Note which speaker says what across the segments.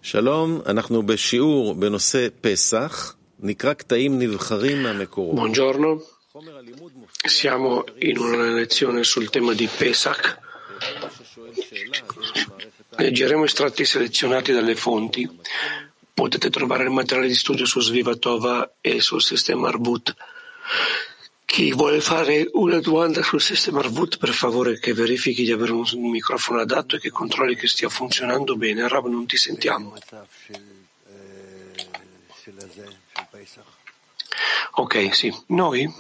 Speaker 1: שלום, אנחנו בשיעור בנושא פסח, נקרא קטעים נבחרים מהמקורות.
Speaker 2: Buongiorno, siamo in una lezione sul tema di Pesach. Leggeremo estratti selezionati dalle fonti. Potete trovare il materiale di studio su Svivatova e sul sistema Arvut. Chi vuole fare una domanda sul sistema Arvut, per favore che verifichi di avere un microfono adatto e che controlli che stia funzionando bene. Rav, non ti sentiamo. Ok, sì. Noi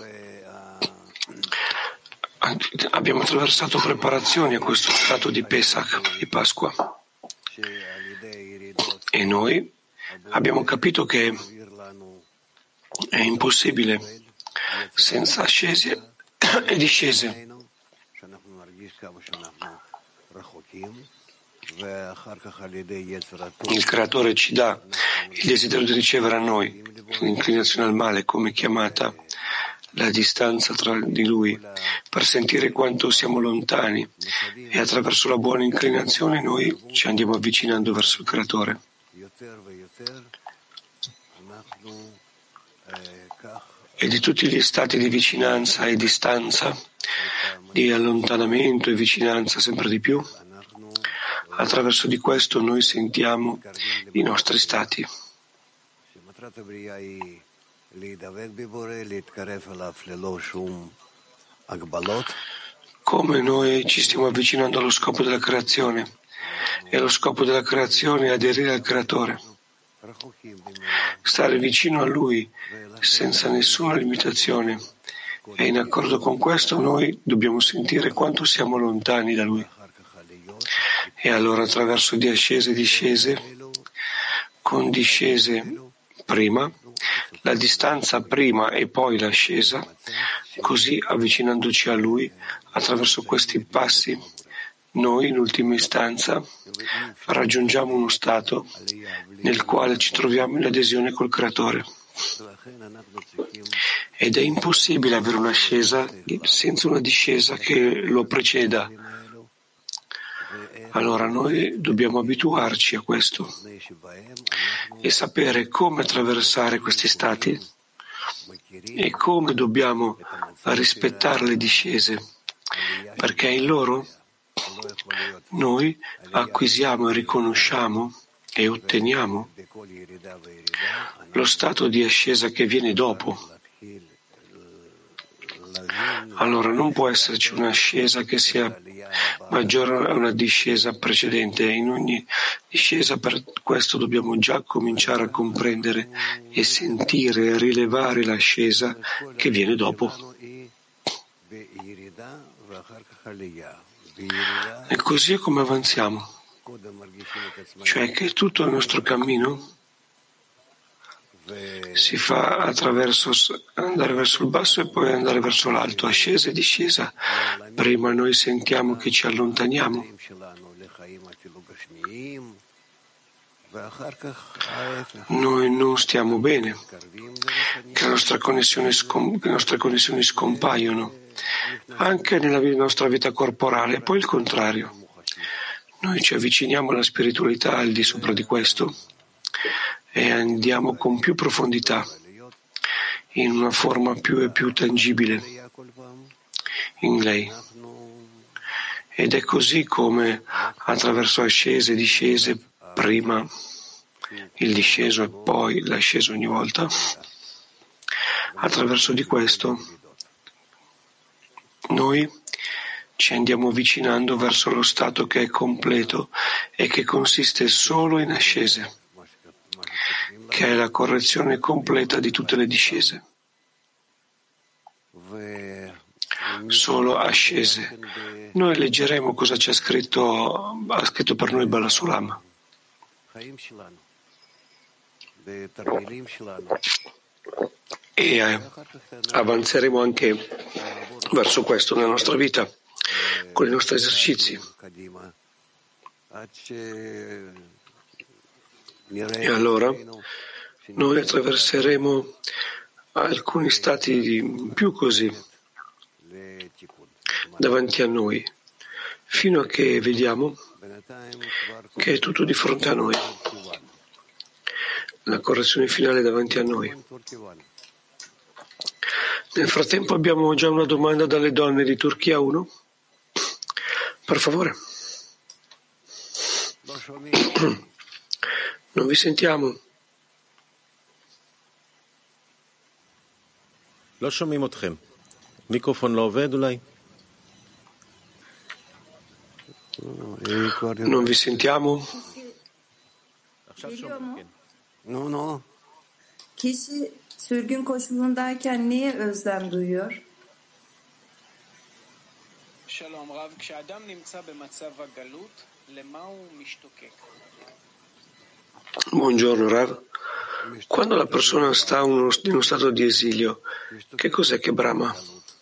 Speaker 2: abbiamo attraversato preparazioni a questo stato di Pesach, di Pasqua. E noi abbiamo capito che è impossibile senza ascese e discese. Il Creatore ci dà il desiderio di ricevere a noi l'inclinazione al male come chiamata, la distanza tra di Lui, per sentire quanto siamo lontani, e attraverso la buona inclinazione noi ci andiamo avvicinando verso il Creatore. E di tutti gli stati di vicinanza e distanza, di allontanamento e vicinanza sempre di più, attraverso di questo noi sentiamo i nostri stati. Come noi ci stiamo avvicinando allo scopo della creazione, e lo scopo della creazione è aderire al Creatore, stare vicino a Lui senza nessuna limitazione, e in accordo con questo noi dobbiamo sentire quanto siamo lontani da Lui. E allora attraverso di ascese e discese, con discese prima, la distanza prima e poi l'ascesa, così avvicinandoci a Lui attraverso questi passi, noi in ultima istanza raggiungiamo uno stato nel quale ci troviamo in adesione col Creatore. Ed è impossibile avere un'ascesa senza una discesa che lo preceda. Allora noi dobbiamo abituarci a questo e sapere come attraversare questi stati e come dobbiamo rispettare le discese, perché in loro noi acquisiamo e riconosciamo e otteniamo lo stato di ascesa che viene dopo. Allora non può esserci un'ascesa che sia maggiore a una discesa precedente. In ogni discesa, per questo dobbiamo già cominciare a comprendere e sentire e rilevare l'ascesa che viene dopo. E così è come avanziamo, cioè che tutto il nostro cammino si fa attraverso andare verso il basso e poi andare verso l'alto, ascesa e discesa. Prima noi sentiamo che ci allontaniamo, noi non stiamo bene, che le nostre connessioni scompaiono anche nella nostra vita corporale, e poi il contrario. Noi ci avviciniamo alla spiritualità al di sopra di questo e andiamo con più profondità, in una forma più e più tangibile in lei. Ed è così come attraverso ascese e discese, prima il disceso e poi l'asceso ogni volta, attraverso di questo noi ci andiamo avvicinando verso lo stato che è completo e che consiste solo in ascese, che è la correzione completa di tutte le discese. Solo ascese. Noi leggeremo cosa c'è scritto, ha scritto per noi Bala Sulam. E avanzeremo anche verso questo nella nostra vita, con i nostri esercizi. E allora noi attraverseremo alcuni stati più così davanti a noi, fino a che vediamo che è tutto di fronte a noi. la correzione finale davanti a noi. Nel frattempo abbiamo già una domanda dalle donne di Turchia 1. Per favore. Non vi sentiamo.
Speaker 1: לא שומעים אתכם. מיקרופון לא עובד אולי?
Speaker 2: Non vi sentiamo?
Speaker 1: עכשיו שומעים, כן.
Speaker 3: No. Kişi sürgün koşulundayken niye özlem duyuyor?
Speaker 4: שלום רב, כשאדם נמצא במצב הגלות, למה הוא משתוקק?
Speaker 2: Buongiorno Rav. Quando la persona sta in uno stato di esilio, che cos'è che brama?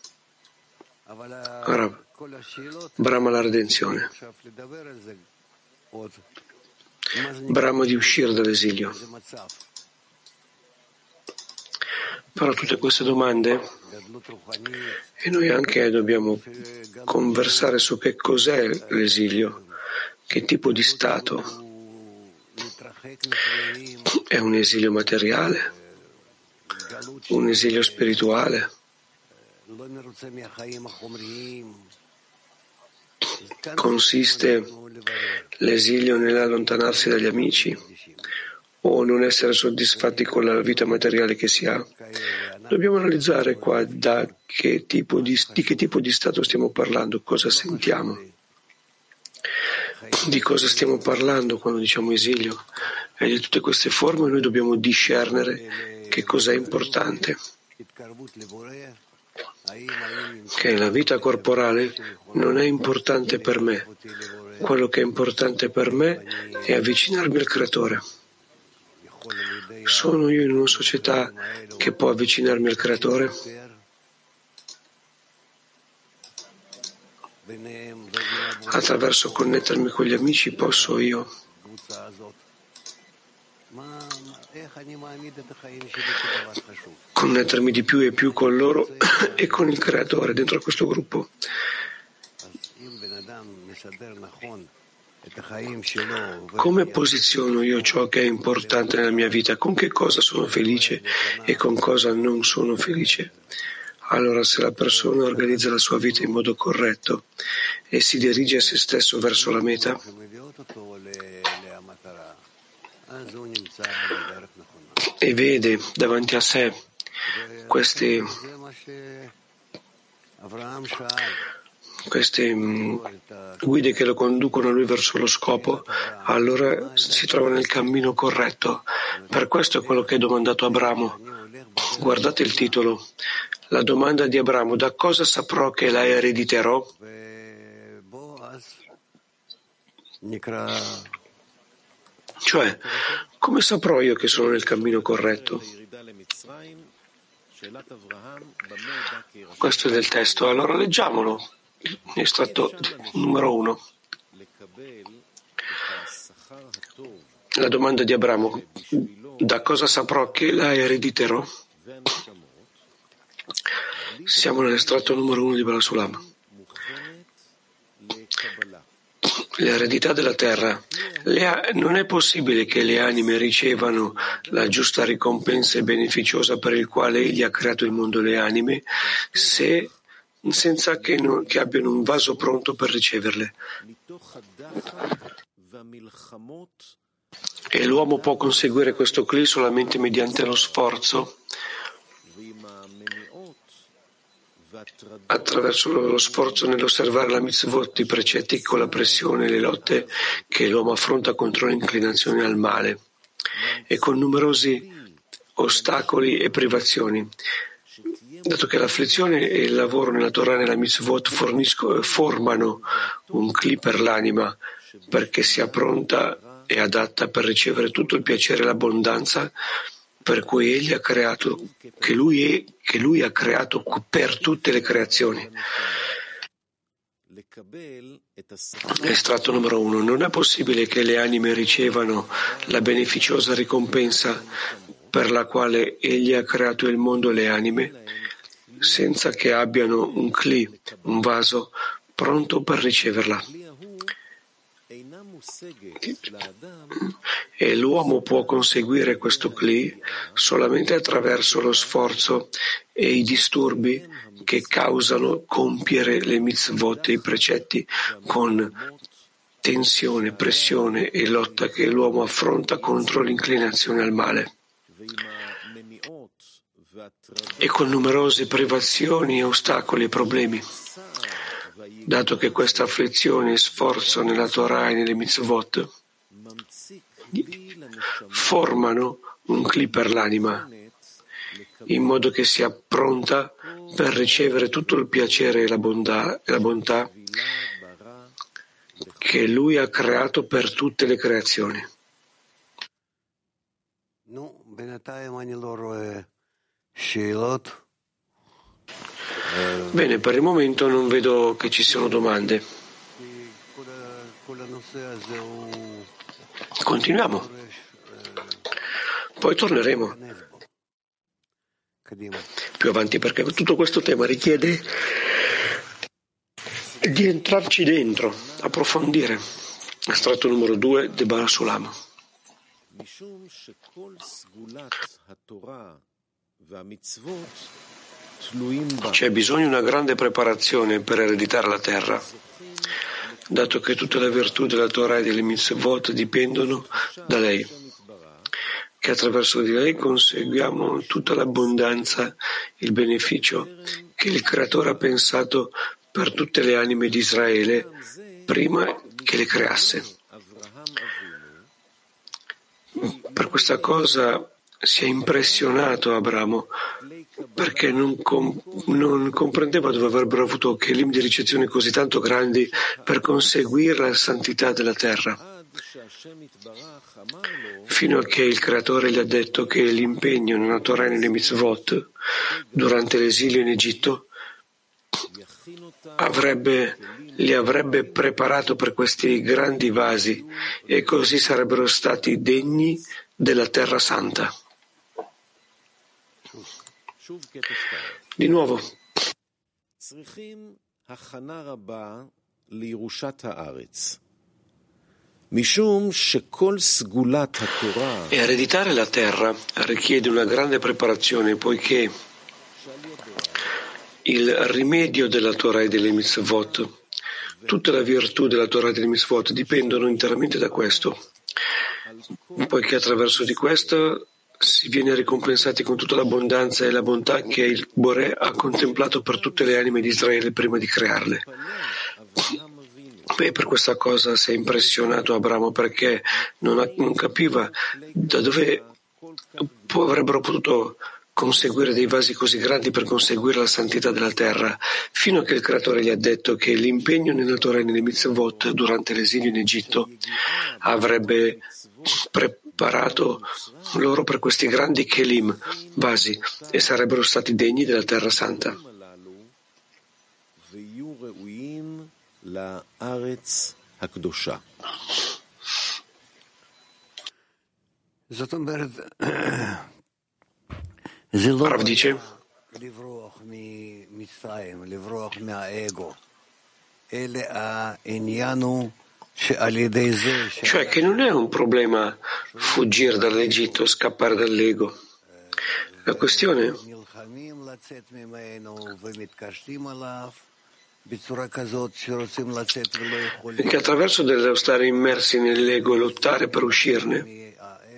Speaker 2: Rav, brama la redenzione. Brama di uscire dall'esilio. Però tutte queste domande, e noi anche dobbiamo conversare su che cos'è l'esilio, che tipo di stato. È un esilio materiale, un esilio spirituale. Consiste l'esilio nell'allontanarsi dagli amici o non essere soddisfatti con la vita materiale che si ha. Dobbiamo analizzare qua di che tipo di stato stiamo parlando, cosa sentiamo, di cosa stiamo parlando quando diciamo esilio. E di tutte queste forme noi dobbiamo discernere che cosa è importante. Che la vita corporale non è importante per me. Quello che è importante per me è avvicinarmi al Creatore. Sono io in una società che può avvicinarmi al Creatore? Attraverso connettermi con gli amici posso io connettermi di più e più con loro e con il Creatore dentro questo gruppo. Come posiziono io ciò che è importante nella mia vita? Con che cosa sono felice e con cosa non sono felice? Allora, se la persona organizza la sua vita in modo corretto e si dirige a se stesso verso la meta, e vede davanti a sé queste guide che lo conducono a lui verso lo scopo, allora si trova nel cammino corretto. Per questo è quello che è domandato Abramo. Guardate il titolo. La domanda di Abramo: da cosa saprò che la erediterò? Cioè, come saprò io che sono nel cammino corretto? Questo è del testo, allora leggiamolo. Estratto numero 1. La domanda di Abramo: da cosa saprò che la erediterò? Siamo nell'estratto numero 1 di Baal Sulam. L'eredità della terra. Non è possibile che le anime ricevano la giusta ricompensa beneficiosa per il quale Egli ha creato il mondo e le anime senza che abbiano un vaso pronto per riceverle. E l'uomo può conseguire questo cli solamente mediante lo sforzo, attraverso lo sforzo nell'osservare la mitzvot, i precetti, con la pressione e le lotte che l'uomo affronta contro l'inclinazione al male e con numerosi ostacoli e privazioni. Dato che l'afflizione e il lavoro nella Torah e nella mitzvot formano un cli per l'anima perché sia pronta e adatta per ricevere tutto il piacere e l'abbondanza per cui Egli ha creato, che lui ha creato per tutte le creazioni. Estratto numero 1. Non è possibile che le anime ricevano la beneficiosa ricompensa per la quale Egli ha creato il mondo e le anime senza che abbiano un cli, un vaso, pronto per riceverla. E l'uomo può conseguire questo Kli solamente attraverso lo sforzo e i disturbi che causano compiere le mitzvot e i precetti con tensione, pressione e lotta che l'uomo affronta contro l'inclinazione al male. E con numerose privazioni, ostacoli e problemi. Dato che questa afflizione e sforzo nella Torah e nelle mitzvot formano un Kli per l'anima, in modo che sia pronta per ricevere tutto il piacere e la bontà che Lui ha creato per tutte le creazioni. Bene, per il momento non vedo che ci siano domande. Continuiamo. Poi torneremo più avanti, perché tutto questo tema richiede di entrarci dentro, approfondire. Estratto numero 2 de Baal Sulam. C'è bisogno di una grande preparazione per ereditare la terra, dato che tutta la virtù della Torah e delle mitzvot dipendono da lei, che attraverso di lei conseguiamo tutta l'abbondanza, il beneficio che il Creatore ha pensato per tutte le anime di Israele prima che le creasse. Per questa cosa si è impressionato Abramo, perché non comprendeva dove avrebbero avuto kelim di ricezione così tanto grandi per conseguire la santità della terra, fino a che il Creatore gli ha detto che l'impegno nella Torah e nelle mitzvot durante l'esilio in Egitto li avrebbe preparato per questi grandi vasi e così sarebbero stati degni della terra santa. Di nuovo, e ereditare la terra richiede una grande preparazione, poiché il rimedio della Torah e delle mitzvot, tutta la virtù della Torah e delle mitzvot dipendono interamente da questo, poiché attraverso di questo si viene ricompensati con tutta l'abbondanza e la bontà che il Boré ha contemplato per tutte le anime di Israele prima di crearle. E per questa cosa si è impressionato Abramo, perché non capiva da dove avrebbero potuto conseguire dei vasi così grandi per conseguire la santità della terra, fino a che il Creatore gli ha detto che l'impegno nella Torah e nelle mitzvot durante l'esilio in Egitto avrebbe preparato loro per questi grandi kelim, vasi, e sarebbero stati degni della terra santa. Rav dice, cioè che non è un problema fuggire dall'Egitto, scappare dall'ego. La questione è che attraverso dello stare immersi nell'ego e lottare per uscirne,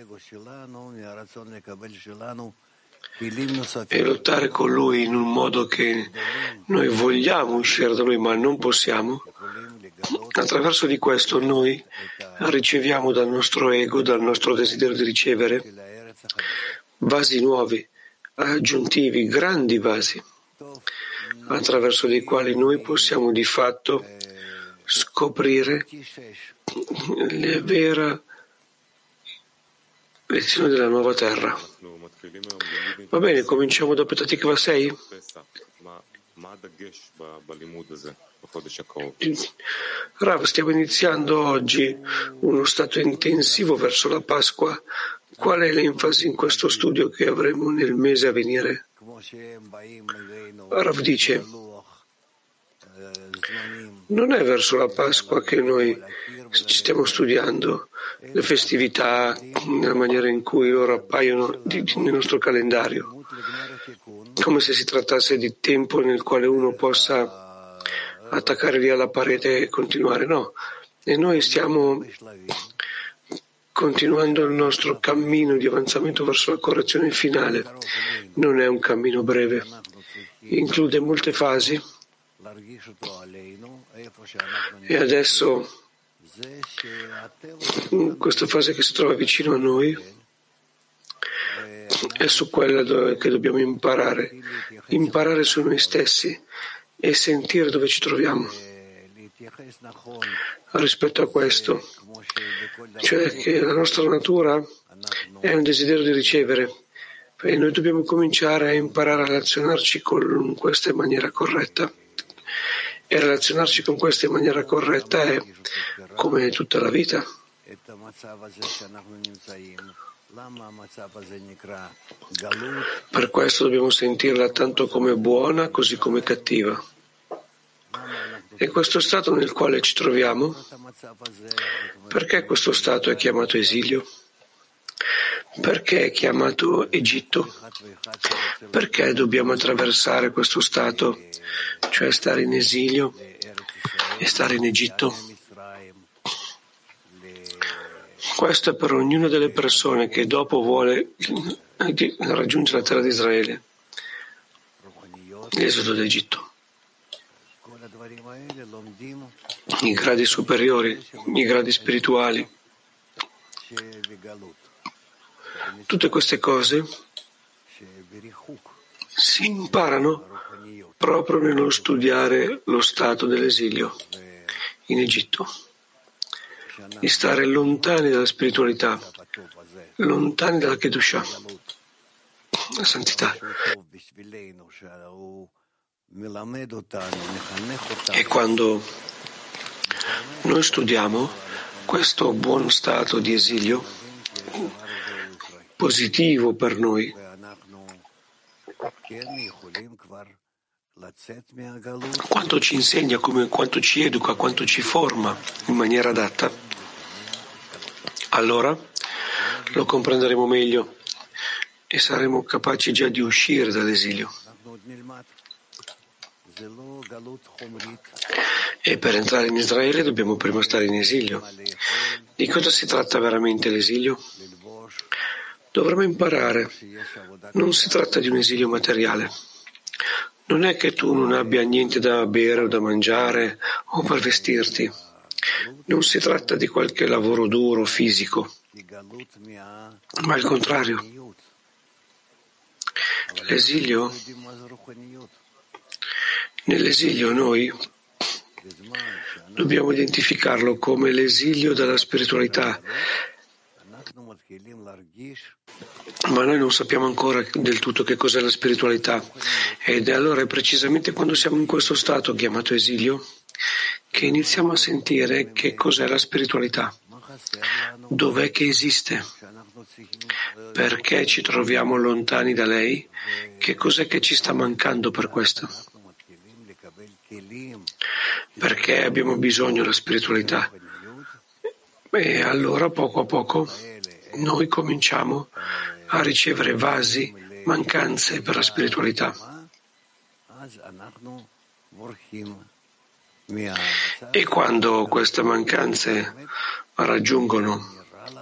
Speaker 2: e lottare con lui in un modo che noi vogliamo uscire da lui ma non possiamo, attraverso di questo noi riceviamo dal nostro ego, dal nostro desiderio di ricevere, vasi nuovi, aggiuntivi, grandi vasi, attraverso dei quali noi possiamo di fatto scoprire la vera lezione della nuova terra. Va bene, cominciamo da Petah Tikva 6. Rav, stiamo iniziando oggi uno stato intensivo verso la Pasqua. Qual è l'enfasi in questo studio che avremo nel mese a venire? Rav dice, non è verso la Pasqua che noi ci stiamo studiando le festività nella maniera in cui ora appaiono nel nostro calendario, come se si trattasse di tempo nel quale uno possa attaccare lì alla parete e continuare. No, e noi stiamo continuando il nostro cammino di avanzamento verso la correzione finale. Non è un cammino breve, include molte fasi e adesso questa fase che si trova vicino a noi è su quella che dobbiamo imparare su noi stessi e sentire dove ci troviamo rispetto a questo, cioè che la nostra natura è un desiderio di ricevere e noi dobbiamo cominciare a imparare a relazionarci con questa in maniera corretta, e relazionarci con questa in maniera corretta è come tutta la vita. Per questo dobbiamo sentirla tanto come buona così come cattiva. E questo stato nel quale ci troviamo, perché questo stato è chiamato esilio? Perché è chiamato Egitto? Perché dobbiamo attraversare questo stato, cioè stare in esilio e stare in Egitto? Questo è per ognuna delle persone che dopo vuole raggiungere la terra di Israele, l'esodo d'Egitto. I gradi superiori, i gradi spirituali. Tutte queste cose si imparano proprio nello studiare lo stato dell'esilio in Egitto, di stare lontani dalla spiritualità, lontani dalla Kedushah, la santità. E quando noi studiamo questo buon stato di esilio, positivo per noi, quanto ci insegna, quanto ci educa, quanto ci forma in maniera adatta, allora lo comprenderemo meglio e saremo capaci già di uscire dall'esilio. E per entrare in Israele dobbiamo prima stare in esilio. Di cosa si tratta veramente l'esilio? Dovremmo imparare. Non si tratta di un esilio materiale. Non è che tu non abbia niente da bere o da mangiare o per vestirti. Non si tratta di qualche lavoro duro, fisico, ma al contrario. L'esilio, nell'esilio noi dobbiamo identificarlo come l'esilio dalla spiritualità, ma noi non sappiamo ancora del tutto che cos'è la spiritualità, ed allora è precisamente quando siamo in questo stato chiamato esilio che iniziamo a sentire che cos'è la spiritualità, dov'è che esiste, perché ci troviamo lontani da lei, che cos'è che ci sta mancando per questo, perché abbiamo bisogno della spiritualità. E allora poco a poco noi cominciamo a ricevere vasi, mancanze per la spiritualità. E quando queste mancanze raggiungono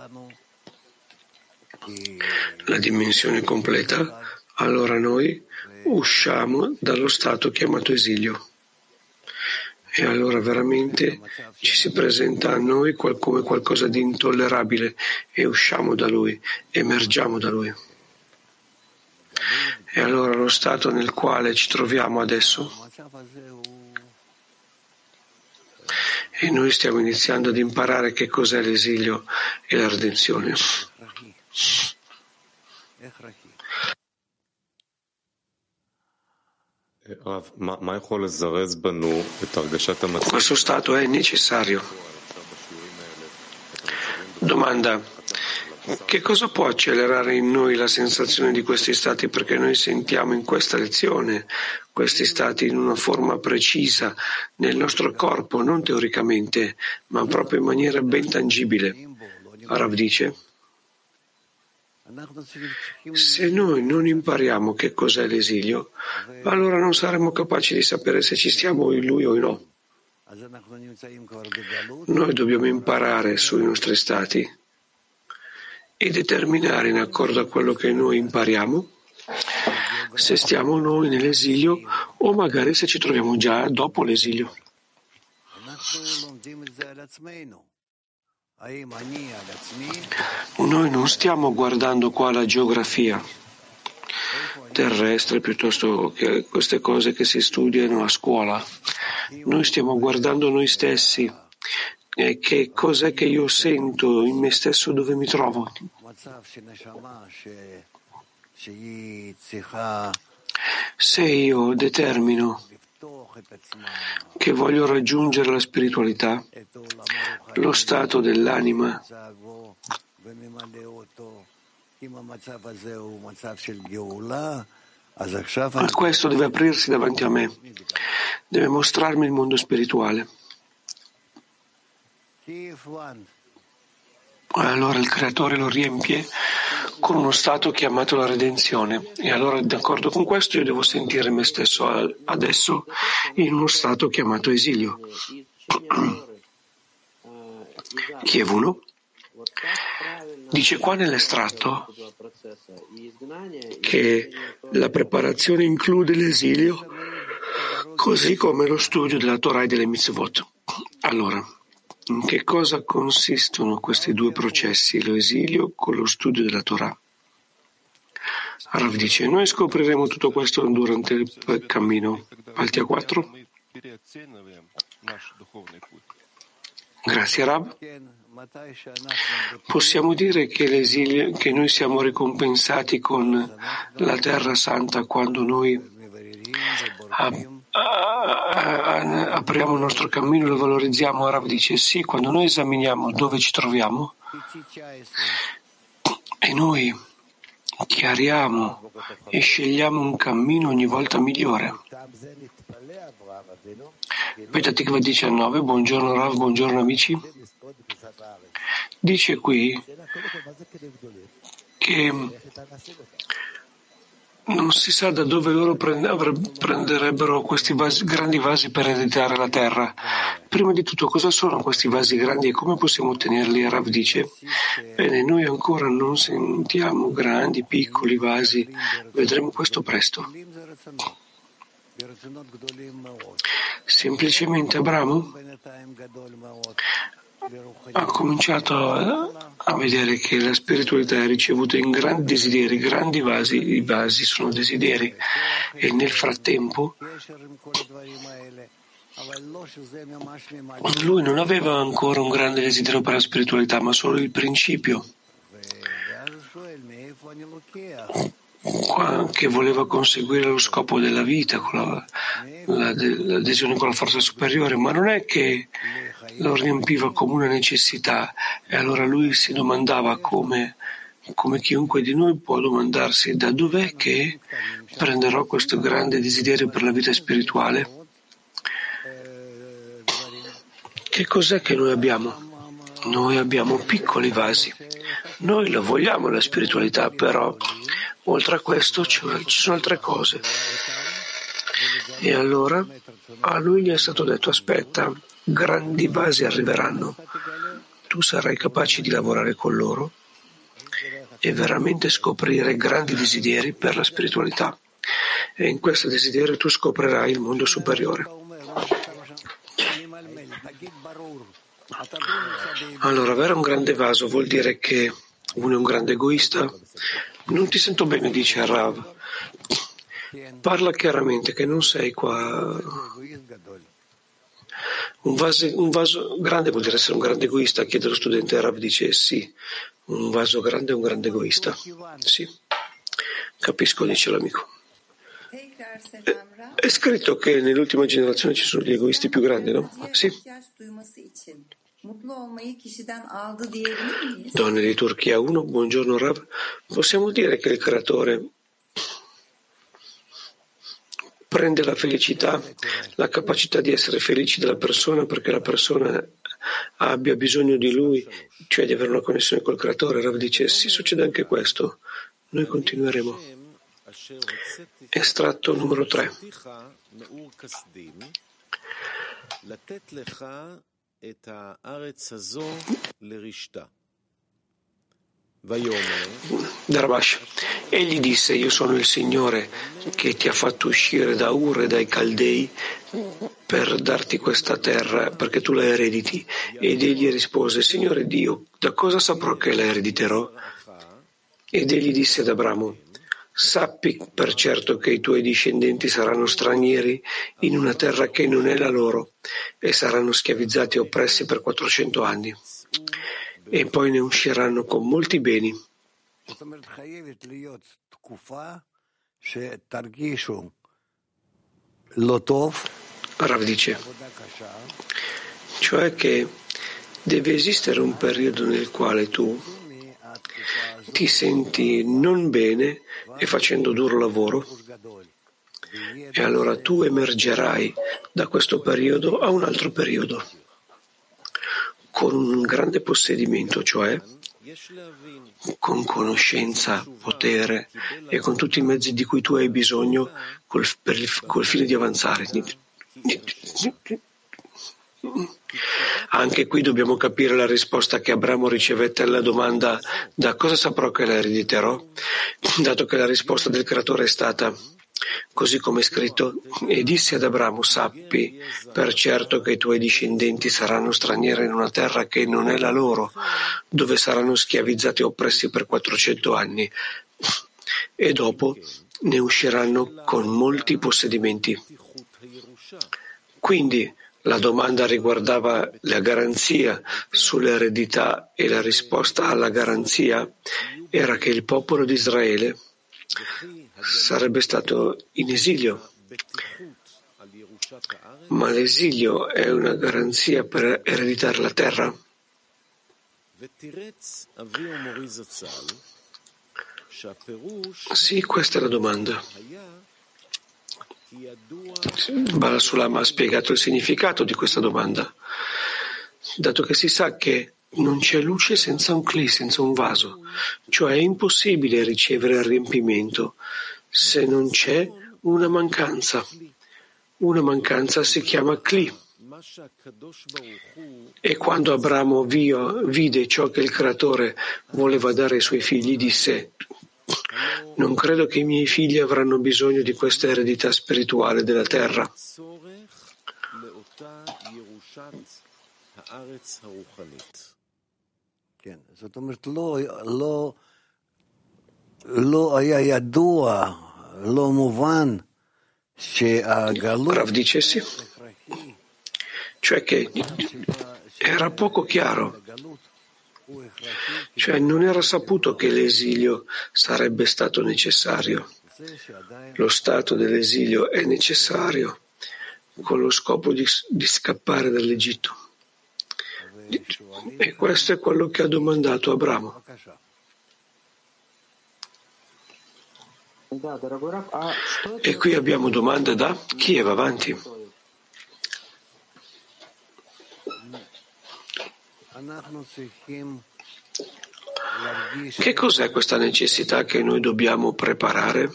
Speaker 2: la dimensione completa, allora noi usciamo dallo stato chiamato esilio. E allora veramente ci si presenta a noi come qualcosa di intollerabile e usciamo da lui, emergiamo da lui. E allora lo stato nel quale ci troviamo adesso, e noi stiamo iniziando ad imparare che cos'è l'esilio e la redenzione. Questo stato è necessario. Domanda: Che cosa può accelerare in noi la sensazione di questi stati? Perché noi sentiamo in questa lezione questi stati in una forma precisa nel nostro corpo, non teoricamente, ma proprio in maniera ben tangibile. Rav dice: se noi non impariamo che cos'è l'esilio, allora non saremo capaci di sapere se ci stiamo in lui o no. Noi dobbiamo imparare sui nostri stati e determinare, in accordo a quello che noi impariamo, se stiamo noi nell'esilio o magari se ci troviamo già dopo l'esilio. Noi non stiamo guardando qua la geografia terrestre piuttosto che queste cose che si studiano a scuola. Noi stiamo guardando noi stessi. Che cos'è che io sento in me stesso, dove mi trovo? Se io determino che voglio raggiungere la spiritualità, lo stato dell'anima, questo deve aprirsi davanti a me, deve mostrarmi il mondo spirituale. Allora il Creatore lo riempie con uno stato chiamato la redenzione, e allora d'accordo con questo io devo sentire me stesso adesso in uno stato chiamato esilio. Kiev 1 dice qua nell'estratto che la preparazione include l'esilio così come lo studio della Torah e delle mitzvot. Allora, in che cosa consistono questi due processi, l'esilio con lo studio della Torah? Rav dice: noi scopriremo tutto questo durante il cammino. Alti a 4. Grazie Rav. Possiamo dire che l'esilio, che noi siamo ricompensati con la Terra Santa quando noi apriamo il nostro cammino e lo valorizziamo. Rav dice sì, quando noi esaminiamo dove ci troviamo e noi chiariamo e scegliamo un cammino ogni volta migliore. Petatikva 19, buongiorno Rav, buongiorno amici. Dice qui che non si sa da dove loro prenderebbero questi grandi vasi per ereditare la terra. Prima di tutto, cosa sono questi vasi grandi e come possiamo ottenerli? Rav dice: bene, noi ancora non sentiamo grandi, piccoli vasi, vedremo questo presto. Semplicemente Abramo ha cominciato a vedere che la spiritualità è ricevuta in grandi desideri, grandi vasi. I vasi sono desideri, e nel frattempo lui non aveva ancora un grande desiderio per la spiritualità, ma solo il principio, che voleva conseguire lo scopo della vita, con l'adesione con la forza superiore, ma non è che lo riempiva come una necessità, e allora lui si domandava come chiunque di noi può domandarsi: da dov'è che prenderò questo grande desiderio per la vita spirituale? Che cos'è che noi abbiamo? Noi abbiamo piccoli vasi, noi la vogliamo la spiritualità, però oltre a questo ci sono altre cose. E allora a lui gli è stato detto: aspetta, grandi vasi arriveranno, tu sarai capace di lavorare con loro e veramente scoprire grandi desideri per la spiritualità, e in questo desiderio tu scoprirai il mondo superiore. Allora, avere un grande vaso vuol dire che uno è un grande egoista? Non ti sento bene, dice Rav. Parla chiaramente che non sei qua. Un vaso grande vuol dire essere un grande egoista? Chiede lo studente. Rav dice sì, un vaso grande è un grande egoista. Sì, capisco, dice l'amico. È scritto che nell'ultima generazione ci sono gli egoisti più grandi, no? Sì.
Speaker 3: mutlu olmayı kişiden aldı diyebilir miyiz?
Speaker 2: Donne di Turchia 1, buongiorno Rav. Possiamo dire che il creatore prende la felicità, la capacità di essere felici della persona perché la persona abbia bisogno di lui, cioè di avere una connessione col creatore? Rav dice sì, succede anche questo. Noi continueremo. Estratto numero 3. Darbash, egli disse: io sono il Signore che ti ha fatto uscire da Ur e dai Caldei per darti questa terra perché tu la erediti. Ed egli rispose: Signore Dio, da cosa saprò che la erediterò? Ed egli disse ad Abramo: sappi per certo che i tuoi discendenti saranno stranieri in una terra che non è la loro e saranno schiavizzati e oppressi per 400 anni. E poi ne usciranno con molti beni. Rav dice, cioè che deve esistere un periodo nel quale tu ti senti non bene e facendo duro lavoro, e allora tu emergerai da questo periodo a un altro periodo con un grande possedimento, cioè con conoscenza, potere e con tutti i mezzi di cui tu hai bisogno col fine di avanzare. Anche qui dobbiamo capire la risposta che Abramo ricevette alla domanda da cosa saprò che la erediterò, dato che la risposta del creatore è stata così come è scritto: e disse ad Abramo: sappi per certo che i tuoi discendenti saranno stranieri in una terra che non è la loro, dove saranno schiavizzati e oppressi per 400 anni, e dopo ne usciranno con molti possedimenti. Quindi la domanda riguardava la garanzia sull'eredità e la risposta alla garanzia era che il popolo di Israele sarebbe stato in esilio. Ma l'esilio è una garanzia per ereditare la terra? Sì, questa è la domanda. Bala Sulam ha spiegato il significato di questa domanda, dato che si sa che non c'è luce senza un cli, senza un vaso, cioè è impossibile ricevere il riempimento se non c'è una mancanza. Una mancanza si chiama cli. E quando Abramo vide ciò che il creatore voleva dare ai suoi figli, disse: non credo che i miei figli avranno bisogno di questa eredità spirituale della terra. Rav dice sì, cioè che era poco chiaro, cioè non era saputo che l'esilio sarebbe stato necessario. Lo stato dell'esilio è necessario con lo scopo di scappare dall'Egitto. E questo è quello che ha domandato Abramo. E qui abbiamo domande da Kiev, avanti. Che cos'è questa necessità che noi dobbiamo preparare?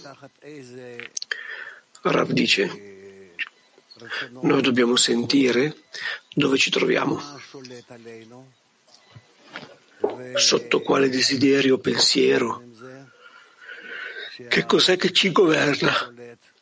Speaker 2: Rav dice, noi dobbiamo sentire dove ci troviamo, sotto quale desiderio o pensiero, che cos'è che ci governa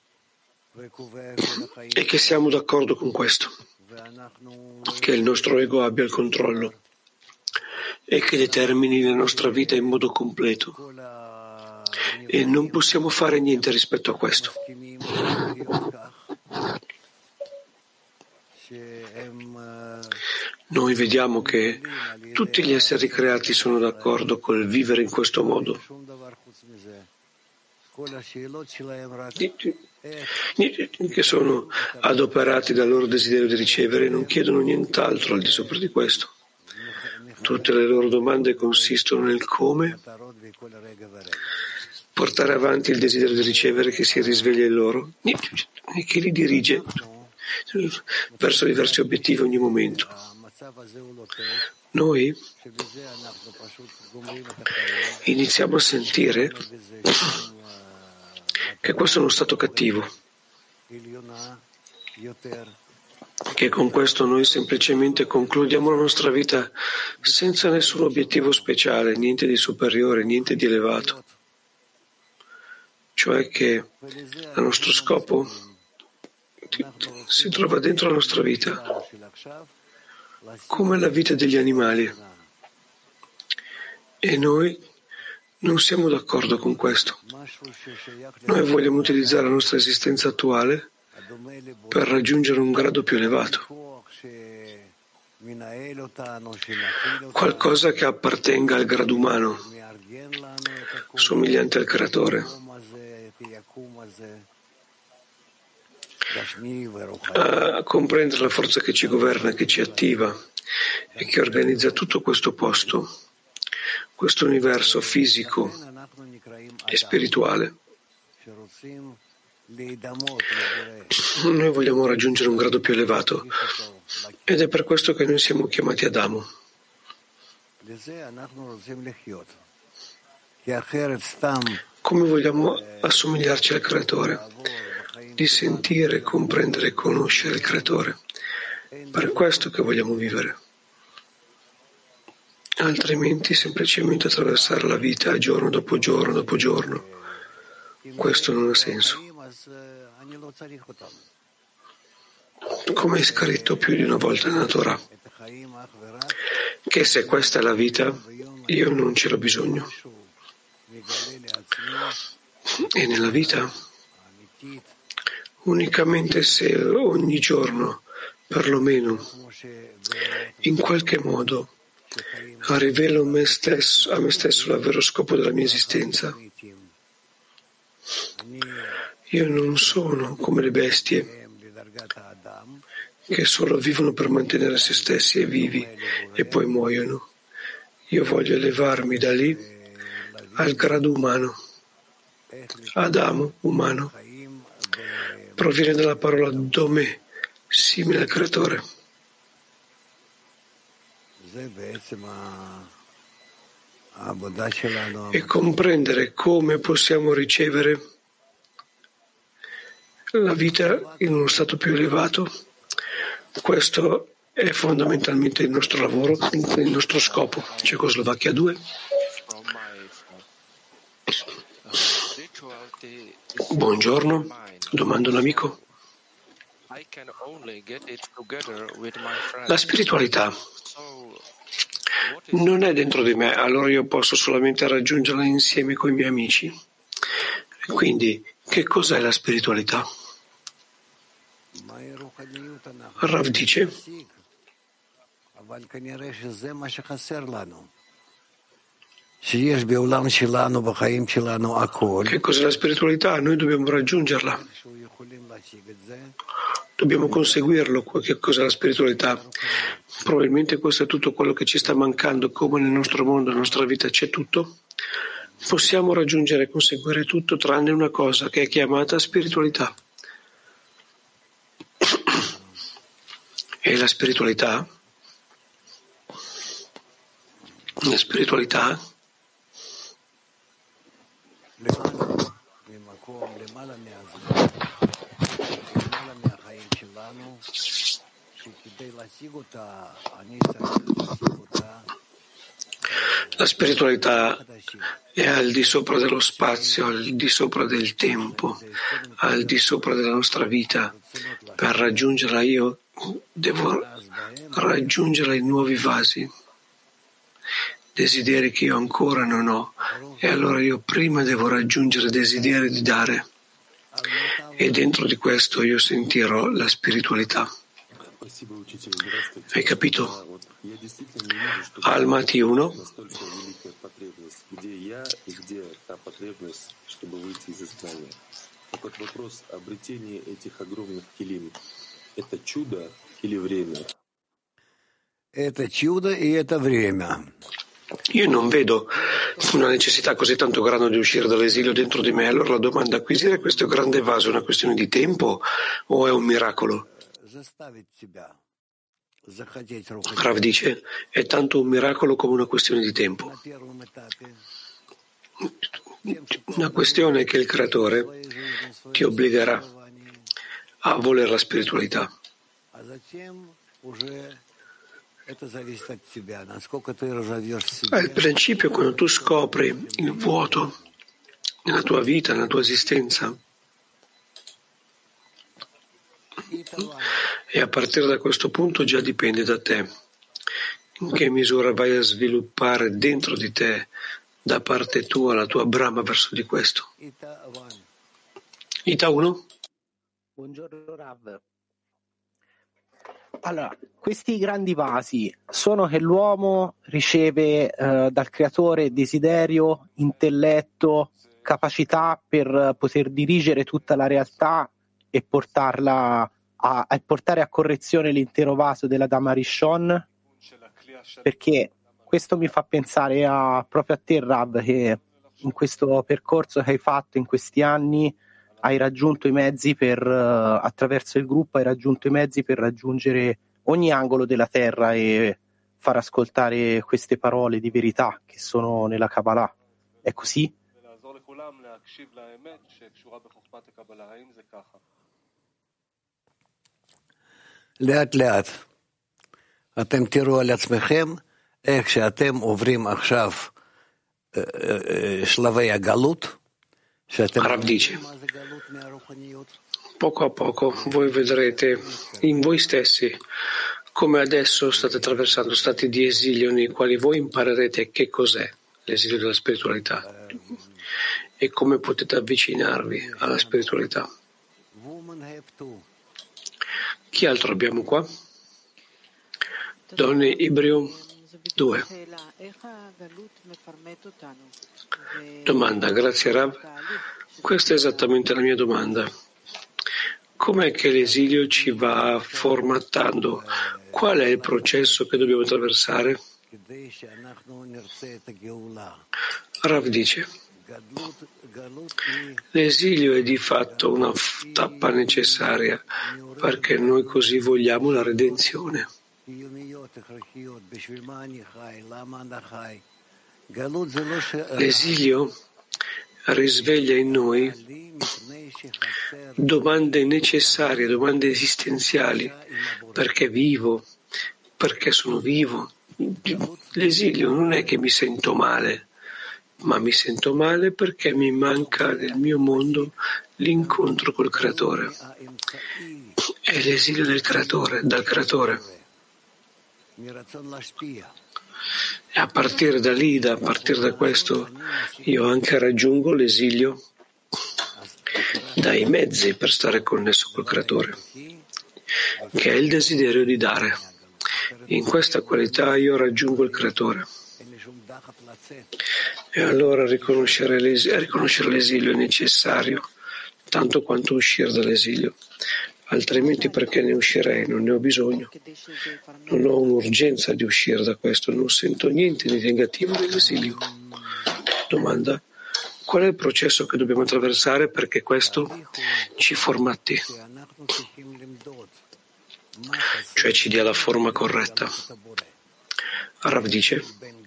Speaker 2: e che siamo d'accordo con questo, che il nostro ego abbia il controllo e che determini la nostra vita in modo completo, e non possiamo fare niente rispetto a questo. Noi vediamo che tutti gli esseri creati sono d'accordo col vivere in questo modo. Che sono adoperati dal loro desiderio di ricevere e non chiedono nient'altro al di sopra di questo. Tutte le loro domande consistono nel come portare avanti il desiderio di ricevere che si risveglia in loro e che li dirige verso diversi obiettivi ogni momento. Noi iniziamo a sentire che questo è uno stato cattivo, che con questo noi semplicemente concludiamo la nostra vita senza nessun obiettivo speciale, niente di superiore, niente di elevato. Cioè che il nostro scopo si trova dentro la nostra vita, come la vita degli animali. E noi non siamo d'accordo con questo. Noi vogliamo utilizzare la nostra esistenza attuale per raggiungere un grado più elevato, qualcosa che appartenga al grado umano, somigliante al Creatore, a comprendere la forza che ci governa, che ci attiva e che organizza tutto questo posto, questo universo fisico e spirituale. Noi vogliamo raggiungere un grado più elevato ed è per questo che noi siamo chiamati Adamo. Come vogliamo assomigliarci al Creatore, di sentire, comprendere e conoscere il Creatore. Per questo che vogliamo vivere. Altrimenti semplicemente attraversare la vita giorno dopo giorno dopo giorno. Questo non ha senso. Come è scritto più di una volta nella Torah, che se questa è la vita, io non ce l'ho bisogno. E nella vita, unicamente se ogni giorno, perlomeno, in qualche modo, rivelo a me stesso l'avvero scopo della mia esistenza. Io non sono come le bestie che solo vivono per mantenere se stessi e vivi e poi muoiono. Io voglio elevarmi da lì al grado umano. Adamo, umano, proviene dalla parola domè, simile al Creatore. E comprendere come possiamo ricevere la vita in uno stato più elevato, questo è fondamentalmente il nostro lavoro, il nostro scopo. Cecoslovacchia 2. Buongiorno, domanda un amico. La spiritualità non è dentro di me, allora io posso solamente raggiungerla insieme con i miei amici. Quindi, che cos'è la spiritualità? Rav dice che cos'è la spiritualità? Noi dobbiamo raggiungerla. Dobbiamo conseguirlo. Che cos'è la spiritualità? Probabilmente questo è tutto quello che ci sta mancando, come nel nostro mondo, nella nostra vita c'è tutto. Possiamo raggiungere e conseguire tutto tranne una cosa che è chiamata spiritualità. E la spiritualità è al di sopra dello spazio, al di sopra del tempo, al di sopra della nostra vita. Per raggiungerla io devo raggiungere i nuovi vasi, desideri che io ancora non ho, e allora io prima devo raggiungere desideri di dare, e dentro di questo io sentirò la spiritualità. Hai capito? Almaty 1. Io non vedo una necessità così tanto grande di uscire dall'esilio dentro di me. Allora la domanda: acquisire questo grande vaso è una questione di tempo o è un miracolo? Rav dice: è tanto un miracolo come una questione di tempo. Una questione che il Creatore ti obbligherà a volere la spiritualità. Al principio, quando tu scopri il vuoto nella tua vita, nella tua esistenza, e a partire da questo punto già dipende da te in che misura vai a sviluppare dentro di te, da parte tua, la tua brama verso di questo. Ita 1?
Speaker 5: Buongiorno Rav. Allora, questi grandi vasi sono che l'uomo riceve dal creatore desiderio, intelletto, capacità per poter dirigere tutta la realtà e portarla portare a correzione l'intero vaso della Dama Rishon, perché questo mi fa pensare proprio a te, Rav, che in questo percorso che hai fatto in questi anni hai raggiunto i mezzi attraverso il gruppo hai raggiunto i mezzi per raggiungere ogni angolo della terra e far ascoltare queste parole di verità che sono nella Kabbalah. È così?
Speaker 6: לאט לאט אתם תראו על עצמכם איך שאתם עוברים עכשיו שלבי הגלות.
Speaker 2: Rav dice: poco a poco voi vedrete in voi stessi come adesso state attraversando stati di esilio nei quali voi imparerete che cos'è l'esilio della spiritualità e come potete avvicinarvi alla spiritualità. Chi altro abbiamo qua? Donne Ibreo 2. Domanda, grazie Rav. Questa è esattamente la mia domanda. Com'è che l'esilio ci va formattando? Qual è il processo che dobbiamo attraversare? Rav dice: l'esilio è di fatto una tappa necessaria perché noi così vogliamo la redenzione. L'esilio risveglia in noi domande necessarie, domande esistenziali. Perché vivo? Perché sono vivo? L'esilio non è che mi sento male, ma mi sento male perché mi manca nel mio mondo l'incontro col Creatore. È l'esilio del Creatore, dal Creatore. E a partire da lì, a partire da questo, io anche raggiungo l'esilio dai mezzi per stare connesso col Creatore, che è il desiderio di dare. In questa qualità io raggiungo il Creatore. E allora riconoscere l'esilio è necessario, tanto quanto uscire dall'esilio. Altrimenti perché ne uscirei? Non ne ho bisogno. Non ho un'urgenza di uscire da questo, non sento niente di negativo dell'esilio. Domanda: qual è il processo che dobbiamo attraversare perché questo ci formati? Cioè ci dia la forma corretta. Rav dice: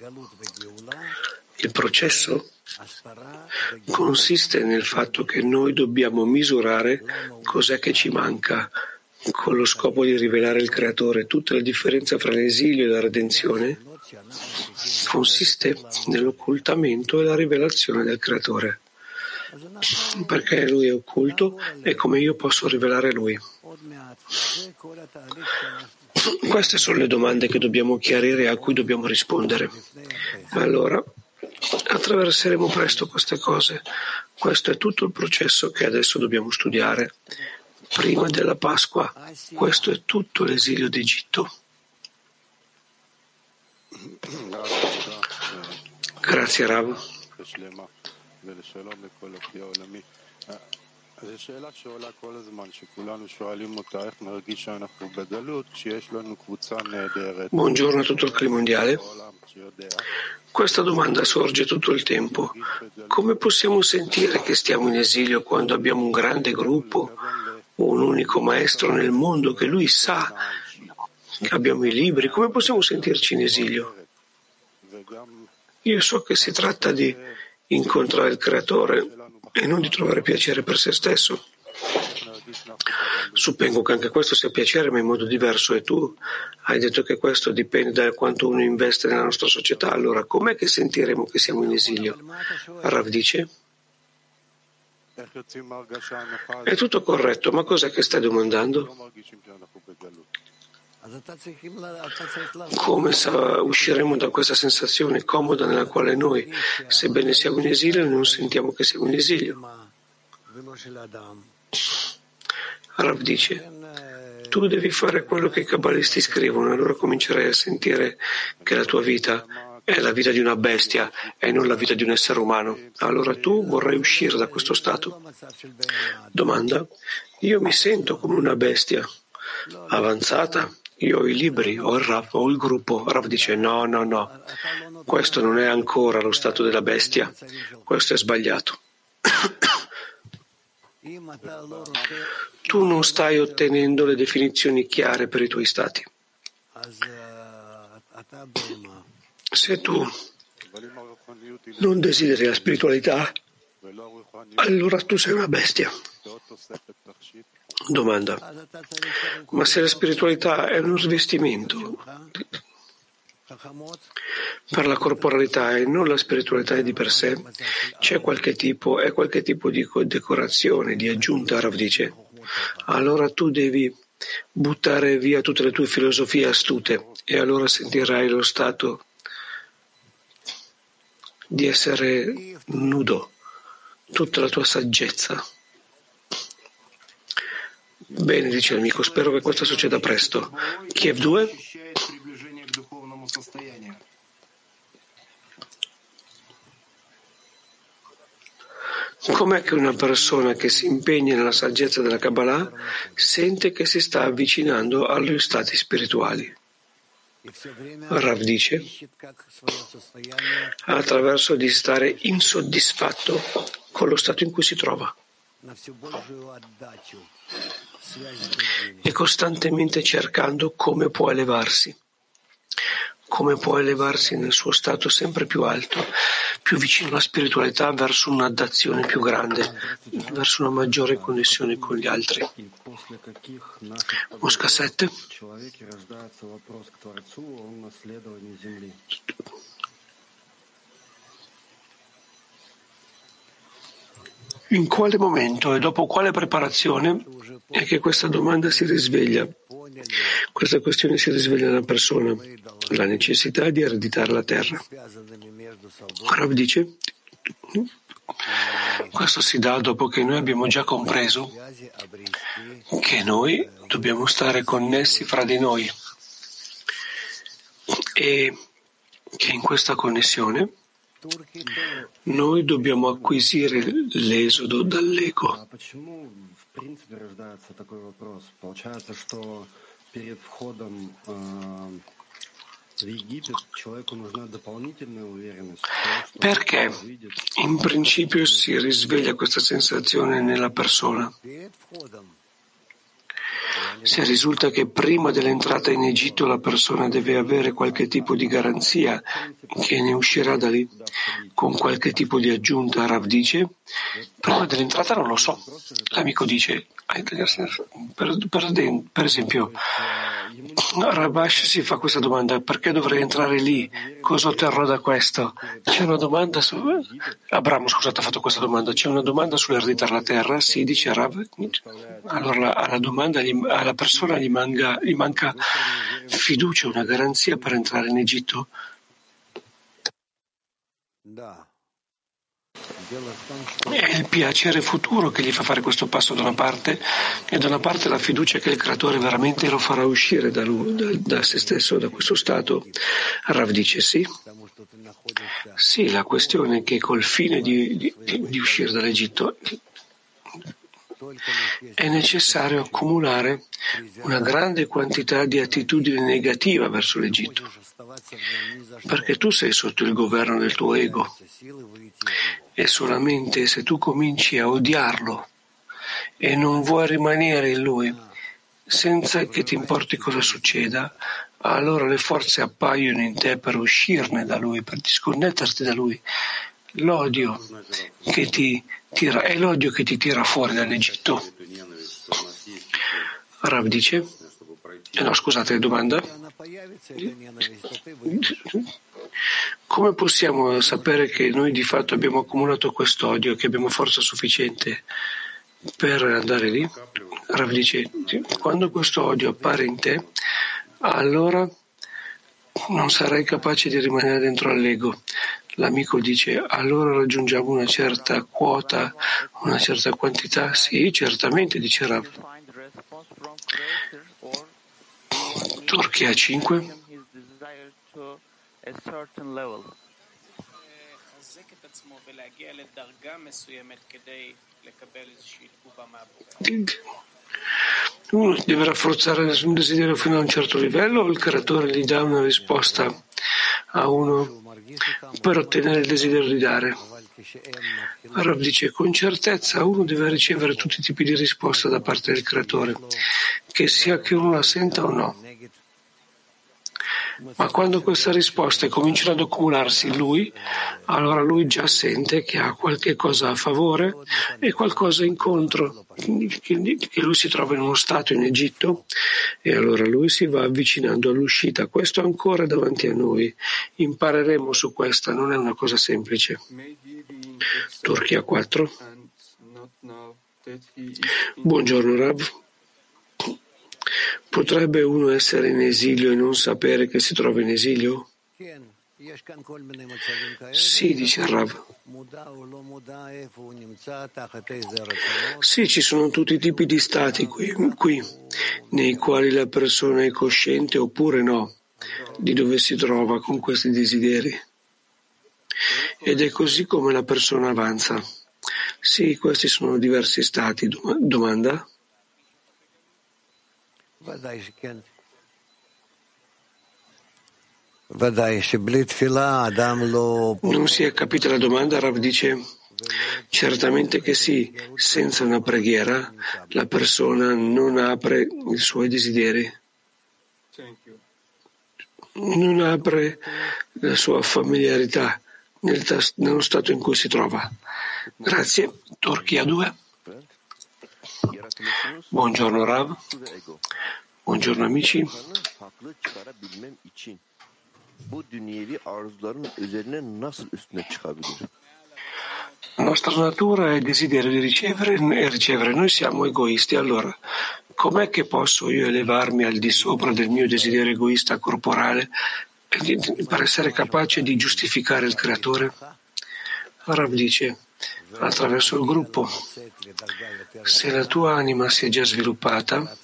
Speaker 2: il processo consiste nel fatto che noi dobbiamo misurare cos'è che ci manca, con lo scopo di rivelare il Creatore. Tutta la differenza fra l'esilio e la redenzione consiste nell'occultamento e la rivelazione del Creatore. Perché Lui è occulto e come io posso rivelare Lui. Queste sono le domande che dobbiamo chiarire e a cui dobbiamo rispondere. Allora, attraverseremo presto queste cose. Questo è tutto il processo che adesso dobbiamo studiare. Prima della Pasqua, questo è tutto l'esilio d'Egitto. Grazie Rav. Buongiorno a tutto il clima mondiale. Questa domanda sorge tutto il tempo. Come possiamo sentire che stiamo in esilio quando abbiamo un grande gruppo, un unico maestro nel mondo che lui sa che abbiamo i libri? Come possiamo sentirci in esilio? Io so che si tratta di incontrare il Creatore e non di trovare piacere per se stesso. Suppongo che anche questo sia piacere, ma in modo diverso, e tu hai detto che questo dipende da quanto uno investe nella nostra società. Allora, com'è che sentiremo che siamo in esilio? Rav dice: è tutto corretto, ma cos'è che stai domandando? Come usciremo da questa sensazione comoda nella quale noi, sebbene siamo in esilio, non sentiamo che siamo in esilio? Rav dice: tu devi fare quello che i cabalisti scrivono, e allora comincerai a sentire che la tua vita è la vita di una bestia e non la vita di un essere umano. Allora tu vorrai uscire da questo stato. Domanda: io mi sento come una bestia avanzata? Io ho i libri, ho il Rav, ho il gruppo. Rav dice: no, questo non è ancora lo stato della bestia, questo è sbagliato. Tu non stai ottenendo le definizioni chiare per i tuoi stati. Se tu non desideri la spiritualità, allora tu sei una bestia. Domanda: ma se la spiritualità è uno svestimento per la corporalità e non la spiritualità di per sé, c'è qualche tipo di decorazione, di aggiunta, Rav dice, allora tu devi buttare via tutte le tue filosofie astute e allora sentirai lo stato di essere nudo, tutta la tua saggezza. Bene, dice l'amico, spero che questo succeda presto. Kiev 2? Com'è che una persona che si impegna nella saggezza della Kabbalah sente che si sta avvicinando agli stati spirituali? Rav dice: attraverso di stare insoddisfatto con lo stato in cui si trova e costantemente cercando come può elevarsi nel suo stato sempre più alto, più vicino alla spiritualità, verso un'adazione più grande, verso una maggiore connessione con gli altri. Mosca 7. In quale momento e dopo quale preparazione è che questa domanda si risveglia? Questa questione si risveglia nella persona, la necessità di ereditare la terra. Rav dice: questo si dà dopo che noi abbiamo già compreso che noi dobbiamo stare connessi fra di noi e che in questa connessione noi dobbiamo acquisire l'esodo dall'ego. Perché in principio si risveglia questa sensazione nella persona? Se risulta che prima dell'entrata in Egitto la persona deve avere qualche tipo di garanzia che ne uscirà da lì con qualche tipo di aggiunta, Rav dice: prima dell'entrata non lo so. L'amico dice, per esempio, Rabash si fa questa domanda: perché dovrei entrare lì? Cosa otterrò da questo? C'è una domanda su... Abramo, scusate, ha fatto questa domanda. C'è una domanda sull'ereditare la terra? Sì, dice Rav. Allora alla domanda, alla persona gli manca fiducia, una garanzia per entrare in Egitto? È il piacere futuro che gli fa fare questo passo da una parte, e da una parte la fiducia che il Creatore veramente lo farà uscire da se stesso, da questo stato. Rav dice sì. Sì, la questione è che col fine di uscire dall'Egitto, è necessario accumulare una grande quantità di attitudine negativa verso l'Egitto, perché tu sei sotto il governo del tuo ego e solamente se tu cominci a odiarlo e non vuoi rimanere in lui, senza che ti importi cosa succeda, allora le forze appaiono in te per uscirne da lui, per disconnetterti da lui. L'odio che ti tira è l'odio che ti tira fuori dall'Egitto. Rav dice, no, scusate, domanda. Come possiamo sapere che noi di fatto abbiamo accumulato quest'odio, che abbiamo forza sufficiente per andare lì? Rav dice, quando questo odio appare in te, allora non sarai capace di rimanere dentro all'ego. L'amico dice, allora raggiungiamo una certa quota, una certa quantità? Sì, certamente, dice Rav. Turchia 5. Uno deve rafforzare un desiderio fino a un certo livello o il creatore gli dà una risposta a uno per ottenere il desiderio di dare? Rav dice, con certezza uno deve ricevere tutti i tipi di risposta da parte del creatore, che sia che uno la senta o no. Ma quando queste risposte cominciano ad accumularsi in lui, allora lui già sente che ha qualche cosa a favore e qualcosa in contro, che lui si trova in uno stato in Egitto e allora lui si va avvicinando all'uscita. Questo è ancora davanti a noi. Impareremo su questa, non è una cosa semplice. Turchia 4. Buongiorno Rav. Potrebbe uno essere in esilio e non sapere che si trova in esilio? Sì, dice Rav. Sì, ci sono tutti i tipi di stati qui, nei quali la persona è cosciente oppure no, di dove si trova con questi desideri. Ed è così come la persona avanza. Sì, questi sono diversi stati. Domanda? Non si è capita la domanda, Rav dice, certamente che sì, senza una preghiera la persona non apre i suoi desideri, non apre la sua familiarità nello stato in cui si trova. Grazie. Turchia 2. Buongiorno Rav. Buongiorno amici. La nostra natura è il desiderio di ricevere e ricevere. Noi siamo egoisti, allora com'è che posso io elevarmi al di sopra del mio desiderio egoista corporale per essere capace di giustificare il creatore? Rav dice, attraverso il gruppo. Se la tua anima si è già sviluppata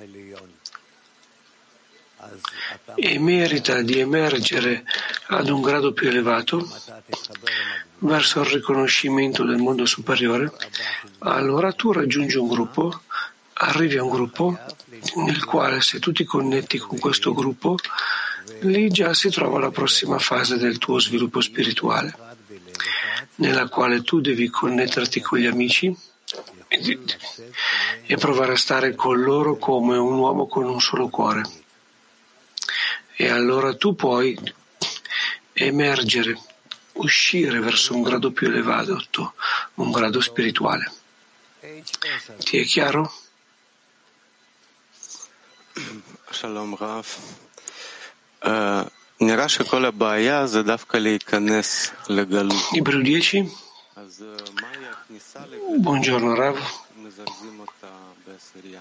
Speaker 2: e merita di emergere ad un grado più elevato verso il riconoscimento del mondo superiore, allora tu raggiungi un gruppo, arrivi a un gruppo nel quale se tu ti connetti con questo gruppo, lì già si trova la prossima fase del tuo sviluppo spirituale, nella quale tu devi connetterti con gli amici e provare a stare con loro come un uomo con un solo cuore. E allora tu puoi emergere, uscire verso un grado più elevato, un grado spirituale. Ti è chiaro?
Speaker 7: Shalom Rav. נראה שכל הבעיה זה דווקא להיכנס לגלות.
Speaker 2: Libro 10.
Speaker 7: אז מהי הכניסה
Speaker 2: Buongiorno Rav.
Speaker 7: מזרזים אותה בעשירייה.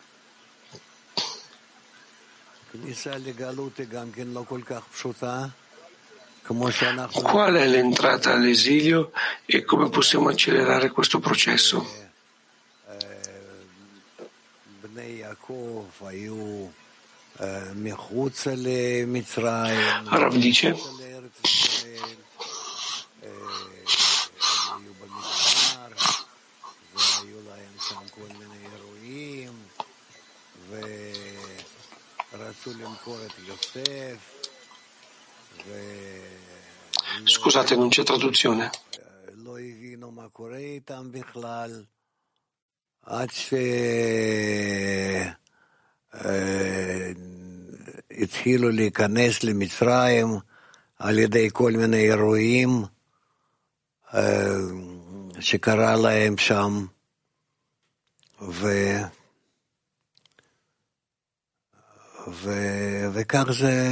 Speaker 2: Qual è l'entrata all'esilio e come possiamo accelerare questo processo? Rav dice, Scusate, non c'è traduzione.
Speaker 6: התחילו להיכנס למצרים על ידי כל מיני אירועים שקרה להם שם, וכך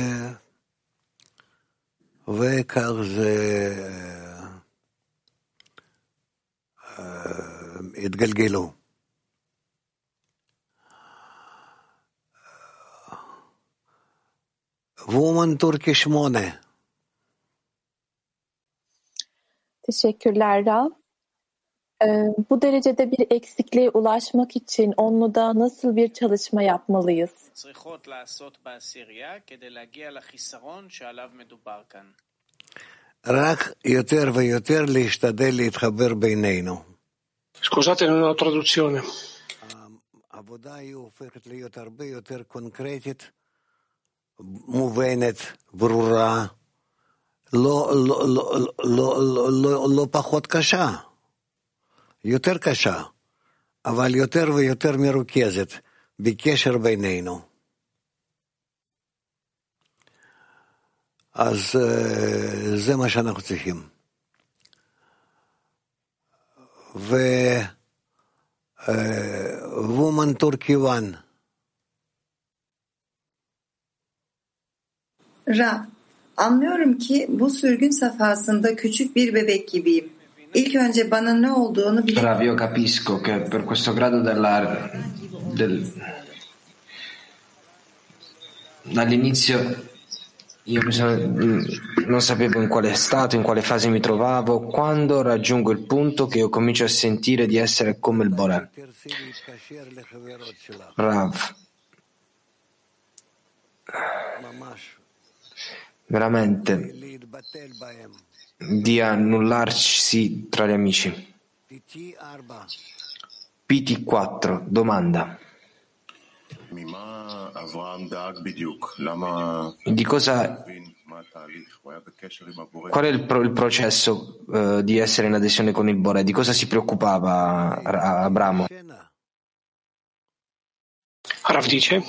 Speaker 6: זה התגלגלו. Woman Turkish 8.
Speaker 8: Teşekkürler Rav. Bu derecede bir eksikliğe ulaşmak için onluda nasıl bir çalışma yapmalıyız?
Speaker 4: צריכות לעשות בעשירייה כדי להגיע לחיסרון שעליו מדובר כאן.
Speaker 6: רק יותר ויותר להשתדל להתחבר בינינו.
Speaker 2: Scusate, non ho traduzione.
Speaker 6: העבודה היא הופכת להיות הרבה יותר קונקרטית, מובנת, ברורה, לא פחות קשה, יותר קשה, אבל יותר ויותר מרוכזת בקשר בינינו. אז זה מה שאנחנו צריכים. Woman Turkey 1.
Speaker 3: Ra, anlıyorum ki bu sürgün safhasında küçük bir bebek gibiyim. İlk önce bana ne olduğunu
Speaker 9: Rav, io capisco che per questo grado dall'inizio io non sapevo in quale stato, in quale fase mi trovavo. Quando raggiungo il punto che io comincio a sentire di essere come il Boré. Rav, veramente di annullarsi tra gli amici. PT4, domanda. Di cosa, qual è il processo di essere in adesione con il Boré? Di cosa si preoccupava Abramo?
Speaker 2: Rav dice: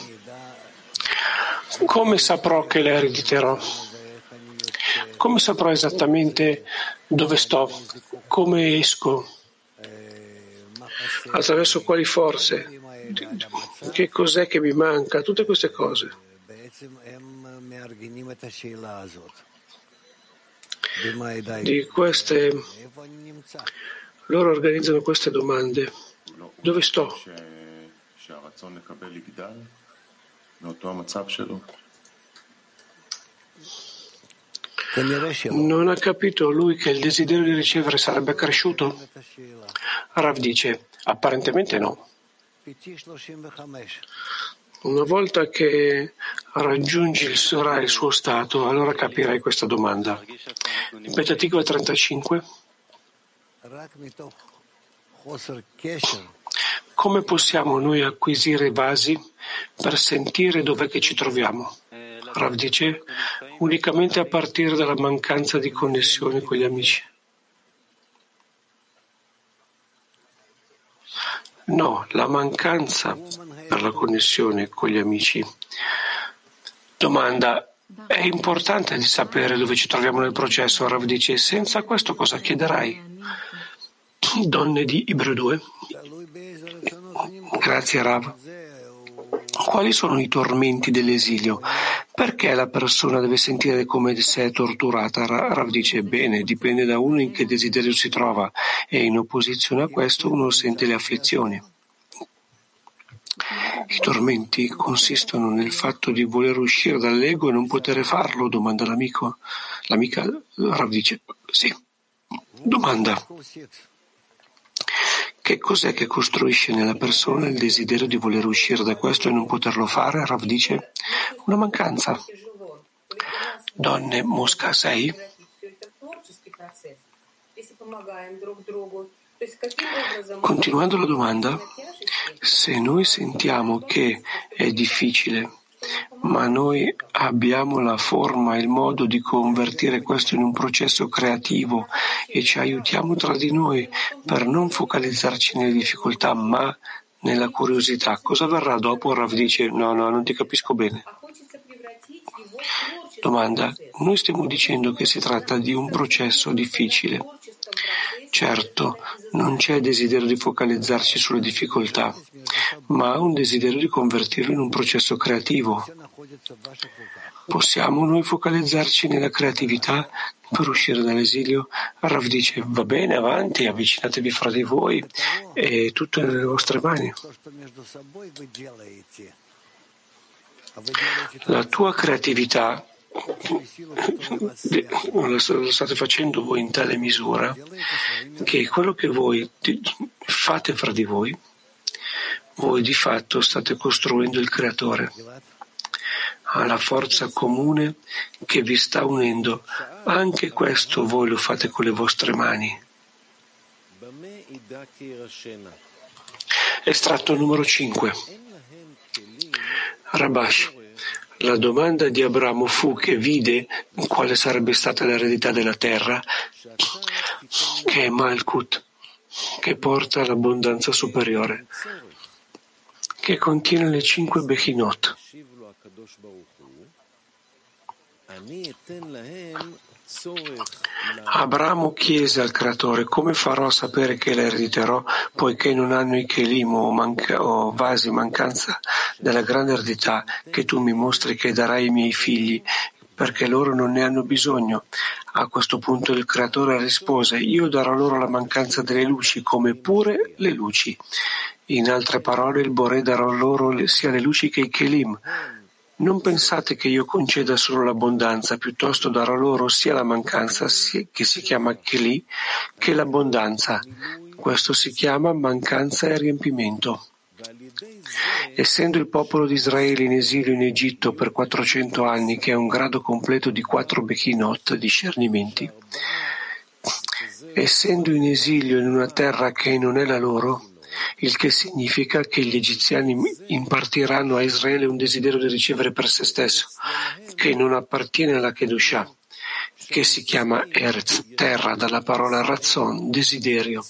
Speaker 2: come saprò che le erediterò? Come saprò esattamente dove sto? Come esco? Attraverso quali forze? Che cos'è che mi manca? Tutte queste cose. Di queste, loro organizzano queste domande. Dove sto? Non ha capito lui che il desiderio di ricevere sarebbe cresciuto? Rav dice: apparentemente no. Una volta che raggiungerai il suo stato, allora capirai questa domanda. Ripetitiva 35. Come possiamo noi acquisire basi per sentire dov'è che ci troviamo? Rav dice: unicamente a partire dalla mancanza di connessione con gli amici. No, la mancanza per la connessione con gli amici. Domanda: è importante di sapere dove ci troviamo nel processo? Rav dice: senza questo cosa chiederai? Donne di Ibru 2. Grazie Rav. Quali sono i tormenti dell'esilio? Perché la persona deve sentire come se è torturata? Rav dice: bene, dipende da uno in che desiderio si trova e in opposizione a questo uno sente le afflizioni. I tormenti consistono nel fatto di voler uscire dall'ego e non poter farlo? Domanda l'amico. L'amica Rav dice: sì. Domanda: che cos'è che costruisce nella persona il desiderio di voler uscire da questo e non poterlo fare? Rav dice: una mancanza. Donne Mosca 6. Continuando la domanda, se noi sentiamo che è difficile, ma noi abbiamo la forma e il modo di convertire questo in un processo creativo e ci aiutiamo tra di noi per non focalizzarci nelle difficoltà, ma nella curiosità. Cosa verrà dopo? Rav dice, no, non ti capisco bene. Domanda, noi stiamo dicendo che si tratta di un processo difficile. Certo, non c'è desiderio di focalizzarci sulle difficoltà, ma un desiderio di convertirlo in un processo creativo. Possiamo noi focalizzarci nella creatività per uscire dall'esilio? Rav dice, va bene, avanti, avvicinatevi fra di voi e tutto è nelle vostre mani. La tua creatività lo state facendo voi in tale misura che quello che voi fate fra di voi di fatto state costruendo il creatore. Alla forza comune che vi sta unendo. Anche questo voi lo fate con le vostre mani. Estratto numero 5. Rabash. La domanda di Abramo fu che vide quale sarebbe stata l'eredità della terra, che è Malkut, che porta all'abbondanza superiore, che contiene le 5 Bechinot. Abramo chiese al creatore: come farò a sapere che la erediterò, poiché non hanno i Kelim o vasi mancanza della grande eredità che tu mi mostri che darai ai miei figli, perché loro non ne hanno bisogno. A questo punto il creatore rispose: io darò loro la mancanza delle luci come pure le luci. In altre parole, il Boré darà loro sia le luci che i Kelim. Non pensate che io conceda solo l'abbondanza, piuttosto darò loro sia la mancanza, che si chiama Keli, che l'abbondanza. Questo si chiama mancanza e riempimento. Essendo il popolo di Israele in esilio in Egitto per 400 anni, che è un grado completo di 4 Bechinot, discernimenti, essendo in esilio in una terra che non è la loro, il che significa che gli egiziani impartiranno a Israele un desiderio di ricevere per se stesso, che non appartiene alla Kedushah, che si chiama Eretz, terra, dalla parola Razzon, desiderio.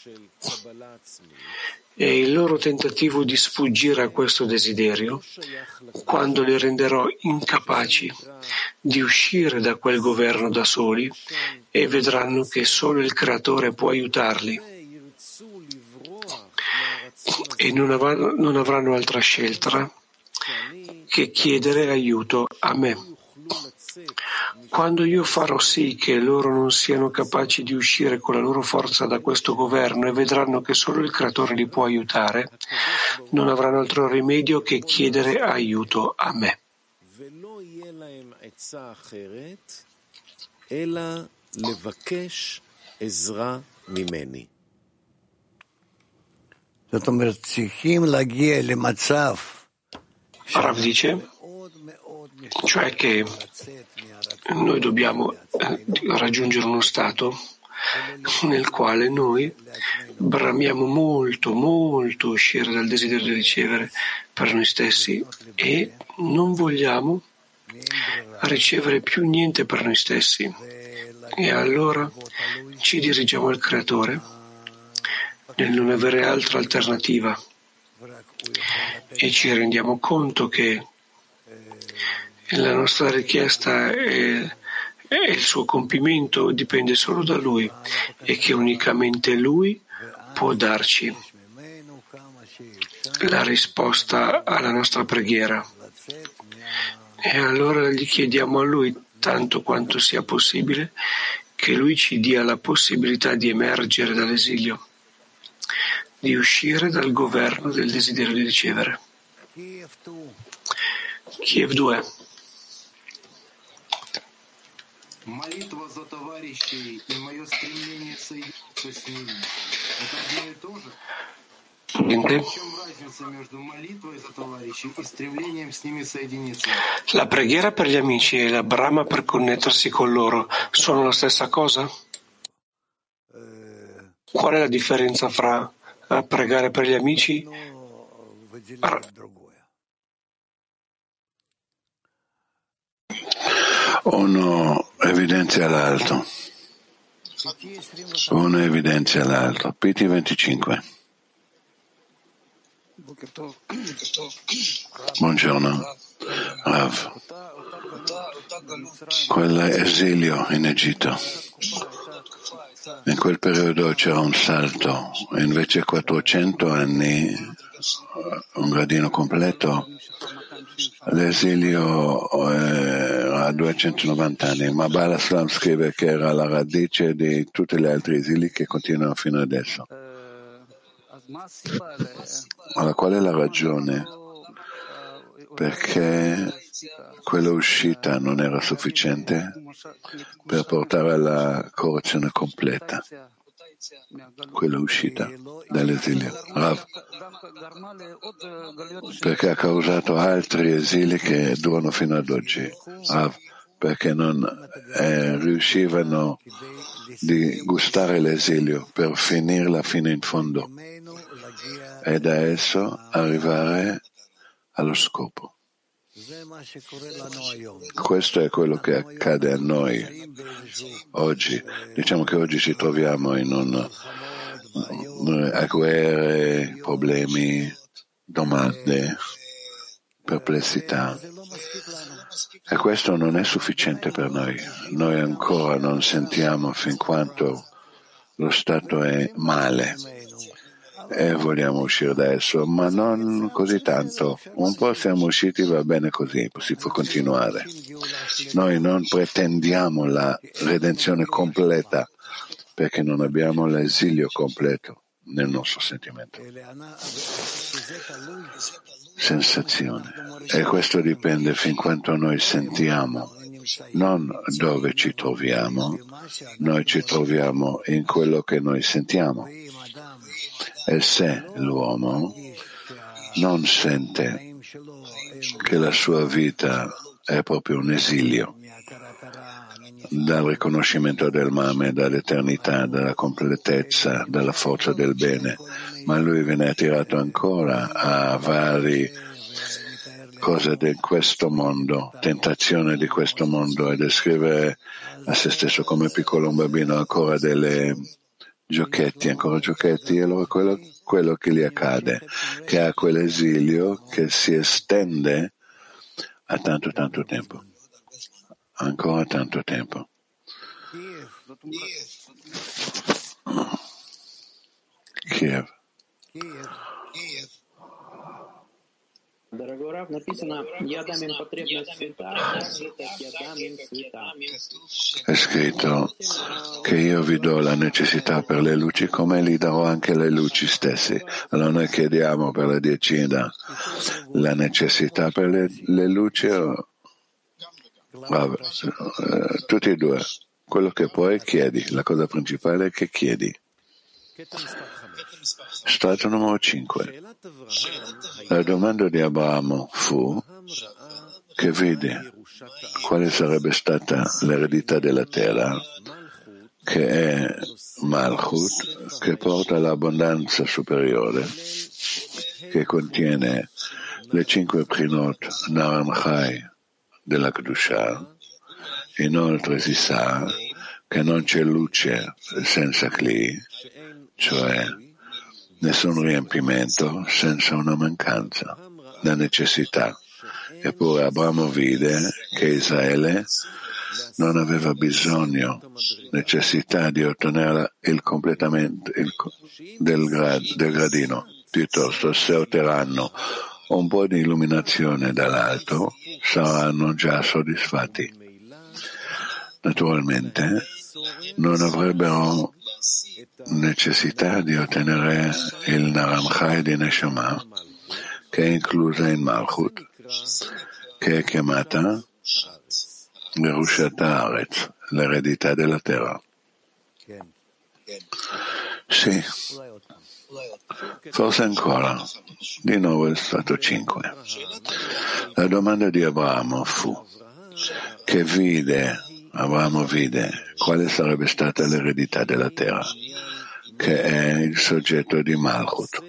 Speaker 2: E il loro tentativo di sfuggire a questo desiderio, quando li renderò incapaci di uscire da quel governo da soli, e vedranno che solo il Creatore può aiutarli, e non avranno altra scelta che chiedere aiuto a me. Quando io farò sì che loro non siano capaci di uscire con la loro forza da questo governo e vedranno che solo il Creatore li può aiutare, non avranno altro rimedio che chiedere aiuto a me. Rav dice, cioè che noi dobbiamo raggiungere uno stato nel quale noi bramiamo molto uscire dal desiderio di ricevere per noi stessi e non vogliamo ricevere più niente per noi stessi, e allora ci dirigiamo al Creatore nel non avere altra alternativa e ci rendiamo conto che la nostra richiesta e il suo compimento dipende solo da Lui e che unicamente Lui può darci la risposta alla nostra preghiera. E allora gli chiediamo a Lui, tanto quanto sia possibile, che Lui ci dia la possibilità di emergere dall'esilio, di uscire dal governo del desiderio di ricevere. Kiev 2.
Speaker 10: Молитва за товарищей и мое стремление соединиться с ними – это одно и то же? В чем разница между молитвой за товарищей и стремлением с ними соединиться?
Speaker 2: La preghiera per gli amici e la brama per connettersi con loro sono la stessa cosa? Qual è la differenza fra pregare per gli amici?
Speaker 11: Uno evidenzia l'altro. PT 25. Buongiorno, Rav. Quell'esilio in Egitto, in quel periodo c'era un salto, invece 400 anni, un gradino completo, l'esilio era a 290 anni, ma Baal Slam scrive che era la radice di tutti gli altri esili che continuano fino adesso. Allora, qual è la ragione? Perché quella uscita non era sufficiente per portare alla correzione completa, quella uscita dall'esilio. Rav, perché ha causato altri esili che durano fino ad oggi. Rav, perché non riuscivano di gustare l'esilio per finirla fino in fondo e da esso arrivare allo scopo. Questo è quello che accade a noi oggi. Diciamo che oggi ci troviamo in a guerre, problemi, domande, perplessità. E questo non è sufficiente per noi. Noi ancora non sentiamo fin quanto lo stato è male e vogliamo uscire da esso, ma non così tanto. Un po' siamo usciti, va bene così, si può continuare. Noi non pretendiamo la redenzione completa perché non abbiamo l'esilio completo nel nostro sentimento. Sensazione. E questo dipende fin quanto noi sentiamo, non dove ci troviamo. Noi ci troviamo in quello che noi sentiamo. E se l'uomo non sente che la sua vita è proprio un esilio dal riconoscimento del mame, dall'eternità, dalla completezza, dalla forza del bene, ma lui viene attirato ancora a varie cose di questo mondo, tentazione di questo mondo, e descrive a se stesso come piccolo un bambino ancora delle giochetti, e allora quello che gli accade, che ha quell'esilio che si estende a tanto tempo, ancora tanto tempo. Kiev. È scritto che io vi do la necessità per le luci come gli darò anche le luci stesse. Allora noi chiediamo per la decina la necessità per le luci tutti e due. Quello che puoi chiedi, la cosa principale è che chiedi. Strato numero 5. La domanda di Abramo fu che vide quale sarebbe stata l'eredità della terra, che è Malchut, che porta all'abbondanza superiore, che contiene le 5 Prinot Naram Chai della Kedusha. Inoltre si sa che non c'è luce senza Kli, cioè nessun riempimento senza una mancanza, la necessità. Eppure Abramo vide che Israele non aveva bisogno, necessità di ottenere il completamento del gradino. Piuttosto, se otterranno un po' di illuminazione dall'alto, saranno già soddisfatti. Naturalmente, non avrebbero necessità di ottenere il Naram Chai di Neshama, che è inclusa in Malchut, che è chiamata Yerushat Haaretz, l'eredità della terra. Sì, forse ancora. Di nuovo è stato 5. La domanda di Abramo fu che Abramo vide quale sarebbe stata l'eredità della terra, che è il soggetto di Malchut,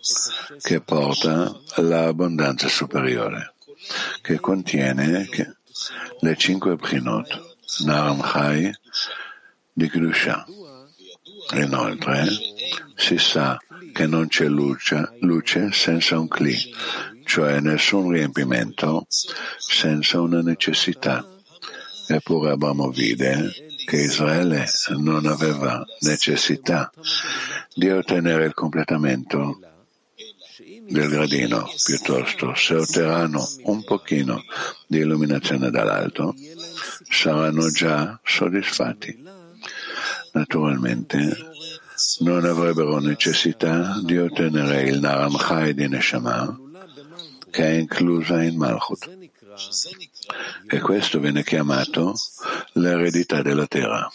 Speaker 11: che porta all'abbondanza superiore, che contiene le 5 Bchinot, Naram Chai di Kedusha. Inoltre, si sa che non c'è luce senza un Kli, cioè nessun riempimento senza una necessità. Eppure Abramo vide che Israele non aveva necessità di ottenere il completamento del gradino, piuttosto se otterranno un pochino di illuminazione dall'alto, saranno già soddisfatti. Naturalmente non avrebbero necessità di ottenere il Naram Chai di Neshama, che è inclusa in Malchut. E questo viene chiamato l'eredità della terra.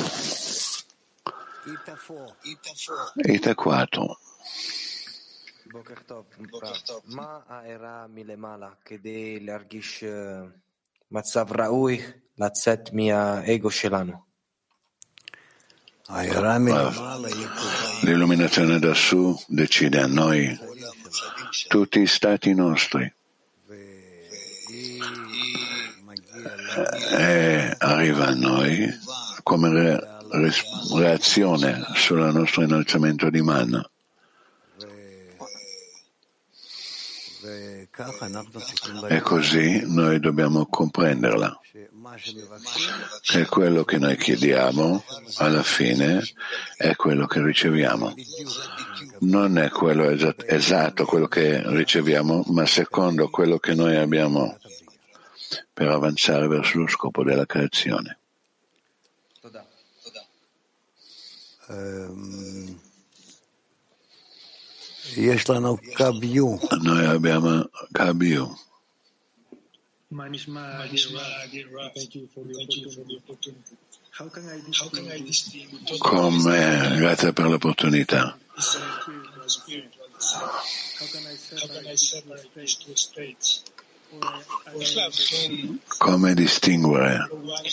Speaker 11: Ita 4.
Speaker 9: בוקר טוב, מה הערה מלמעלה כדי להרגיש מצב ראוי לצאת מהאגו שלנו?
Speaker 11: L'illuminazione da su decide a noi tutti i stati nostri e arriva a noi come reazione sul nostro innalzamento di man. E così noi dobbiamo comprenderla, che quello che noi chiediamo alla fine è quello che riceviamo. Non è quello esatto quello che riceviamo, ma secondo quello che noi abbiamo per avanzare verso lo scopo della creazione. Noi abbiamo Kabiu. Come, grazie per l'opportunità. Come distinguere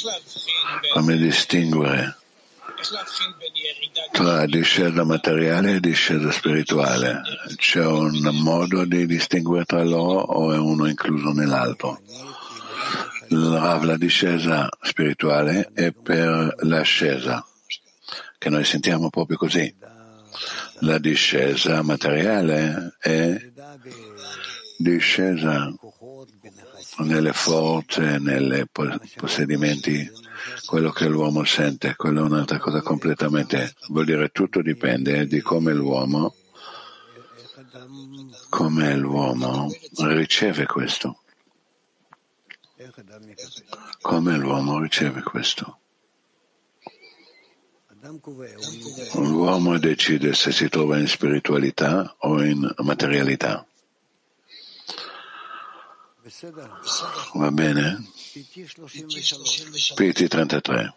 Speaker 11: tra discesa materiale e discesa spirituale? C'è un modo di distinguere tra loro o è uno incluso nell'altro? La discesa spirituale è per l'ascesa, che noi sentiamo proprio così. La discesa materiale è discesa nelle forze, nei possedimenti, quello che l'uomo sente, quello è un'altra cosa completamente. Vuol dire tutto dipende di come l'uomo riceve questo. Come l'uomo riceve questo. L'uomo decide se si trova in spiritualità o in materialità. Va bene? PT 33.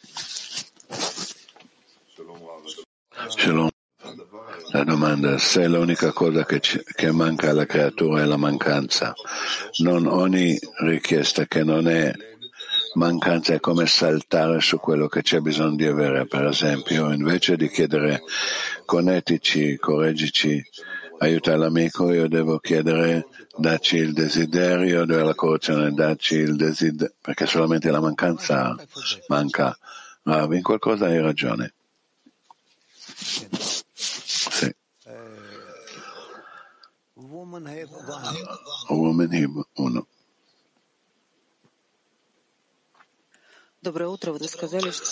Speaker 11: Shalom. La domanda: se l'unica cosa che manca alla creatura è la mancanza, non ogni richiesta che non è mancanza è come saltare su quello che c'è bisogno di avere. Per esempio, invece di chiedere connettiti, correggici, aiuta l'amico, io devo chiedere dacci il desiderio della correzione, dacci il desiderio, perché solamente la mancanza manca. Rav, in qualcosa hai ragione. Sì. Woman Hib 1.
Speaker 12: Доброе утро. Вы сказали, что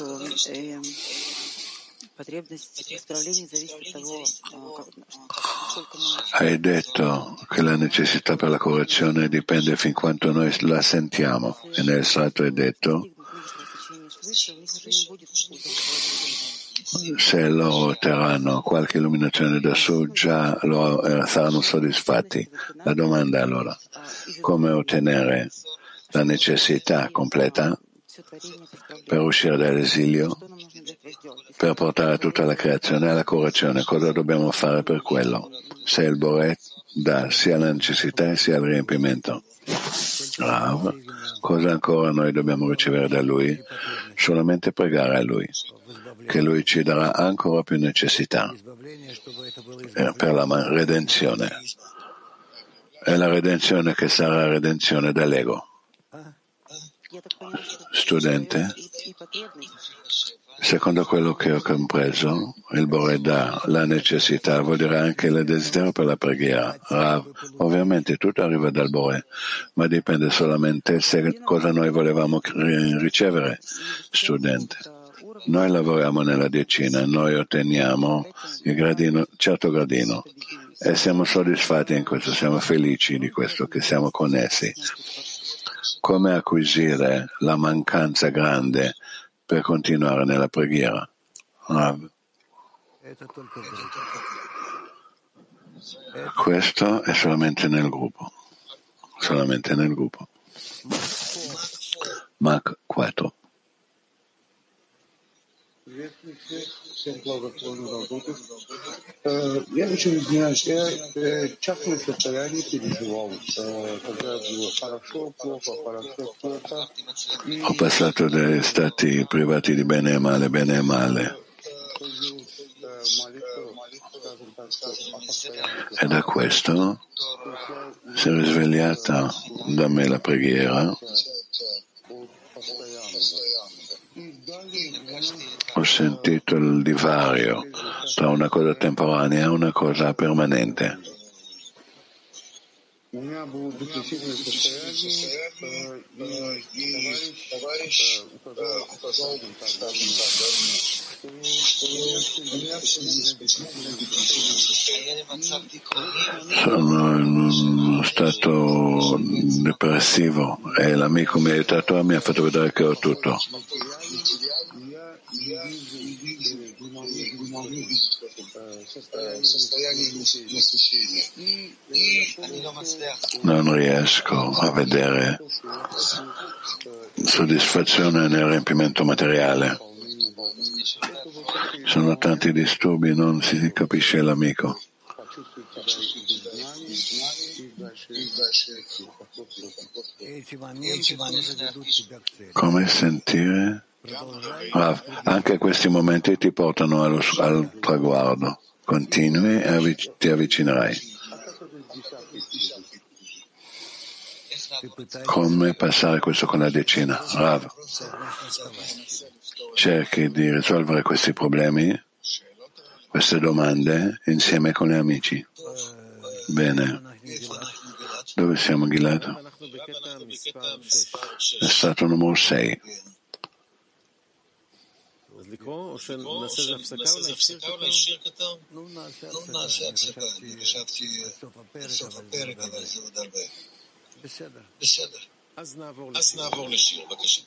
Speaker 12: потребность в исправлении зависит от того, сколько мы...
Speaker 11: Hai detto che la necessità per la correzione dipende fin quanto noi la sentiamo, e nel salto è detto se loro otterranno qualche illuminazione da su già saranno soddisfatti. La domanda è allora: come ottenere la necessità completa per uscire dall'esilio, per portare tutta la creazione alla correzione? Cosa dobbiamo fare per quello? Se il Boret dà sia la necessità sia il riempimento. Rav, cosa ancora noi dobbiamo ricevere da Lui? Solamente pregare a Lui, che Lui ci darà ancora più necessità per la redenzione. È la redenzione che sarà redenzione dall'ego. Studente, secondo quello che ho compreso, il Bore dà la necessità, vuol dire anche il desiderio per la preghiera. Rav, ovviamente tutto arriva dal Bore, ma dipende solamente se cosa noi volevamo ricevere. Studente, noi lavoriamo nella decina, noi otteniamo il gradino, certo gradino, e siamo soddisfatti in questo, siamo felici di questo, che siamo connessi. Come acquisire la mancanza grande per continuare nella preghiera? Questo è solamente nel gruppo. Mach 4.
Speaker 10: Я очень извиняюсь, я частное состояние переживал, когда было хорошо, плохо.
Speaker 11: Ho passato degli stati privati di bene e male. E da questo si è risvegliata da me la preghiera. Ho sentito il divario tra una cosa temporanea e una cosa permanente. Sono in uno stato depressivo e l'amico mi ha aiutato, mi ha fatto vedere che ho tutto. Non riesco a vedere soddisfazione nel riempimento materiale. Sono tanti disturbi, non si capisce l'amico. Come sentire? Anche questi momenti ti portano al traguardo. Continui e ti avvicinerai. Come passare questo con la decina? Rav, cerchi di risolvere questi problemi, queste domande, insieme con gli amici. Bene. Dove siamo, Gilad? È stato numero 6.
Speaker 1: לקרוא או שנעשה איזה הפסקה אולי שיר קטן? נעשה הפסקה, אני חשבתי בסוף הפרק, אבל זה עוד הרבה. בסדר. אז נעבור לשיר, בבקשה.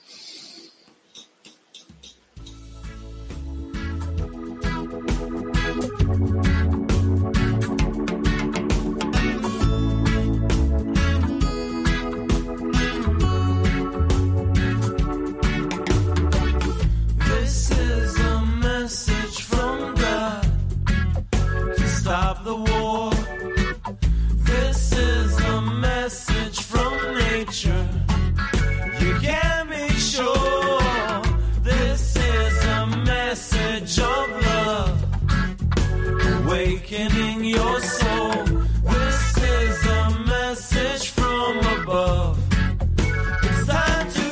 Speaker 13: Stop the war. This is a message from nature. You can be sure. This is a message of love, awakening your soul. This is a message from above. It's time to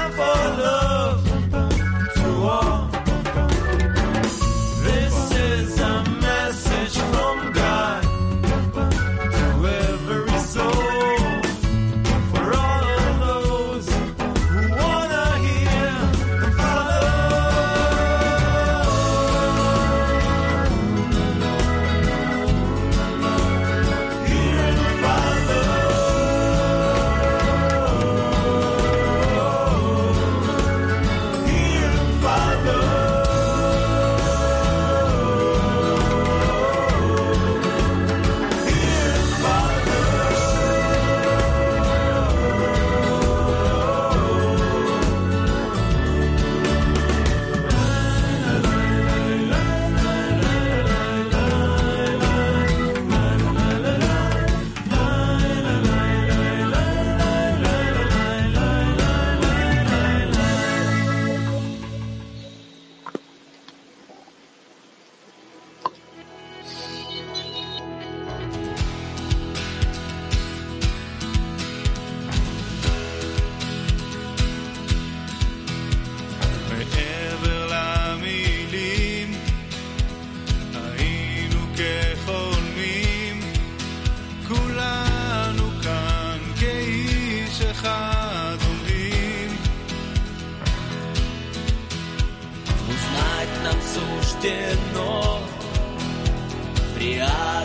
Speaker 13: This is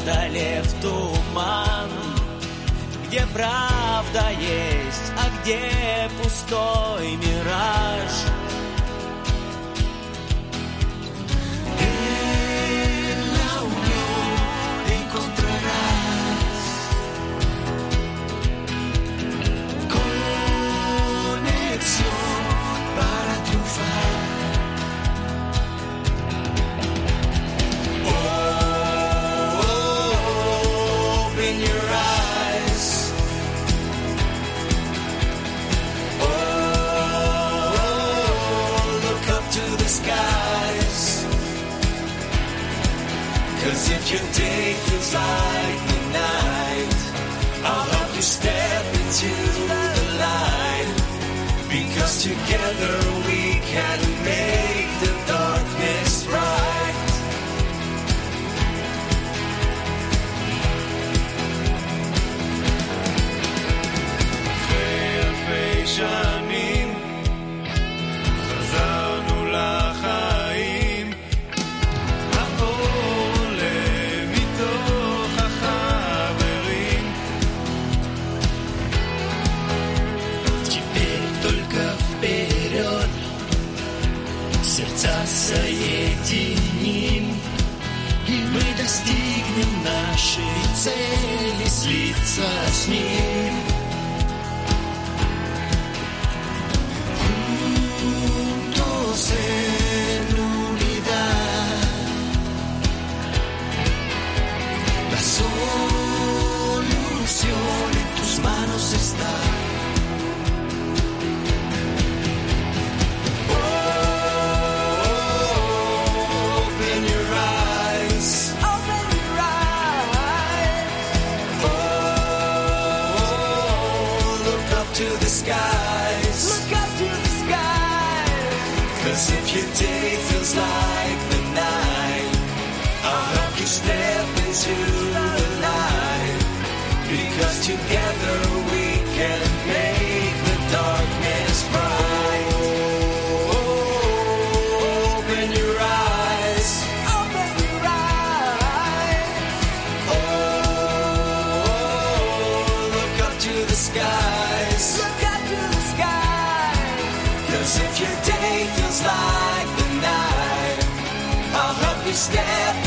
Speaker 13: преодолев туман, где правда есть, а где пустой мираж. En la unión encontrarás conexión para triunfar. Open your eyes. Look up to the skies. 'Cause if your day feels like the night, I'll help you step into the light. Because together we can make the darkness bright. אלפי שנים חזרנו לחיים, האור עולה מתוך החברים. Теперь только вперед, сердца соединим, и мы достигнем нашей цели, слиться с ним. En unidad, la solución en tus manos está. Open your eyes. Open your eyes. Look up to the skies. Look up to the skies. 'Cause if your day feels like the night, I'll help you step into the light. Because together we can make the darkness bright. Open your eyes. Open your eyes. Look up to the skies. Look up to the skies. 'Cause if your day feels like the night, I'll help you step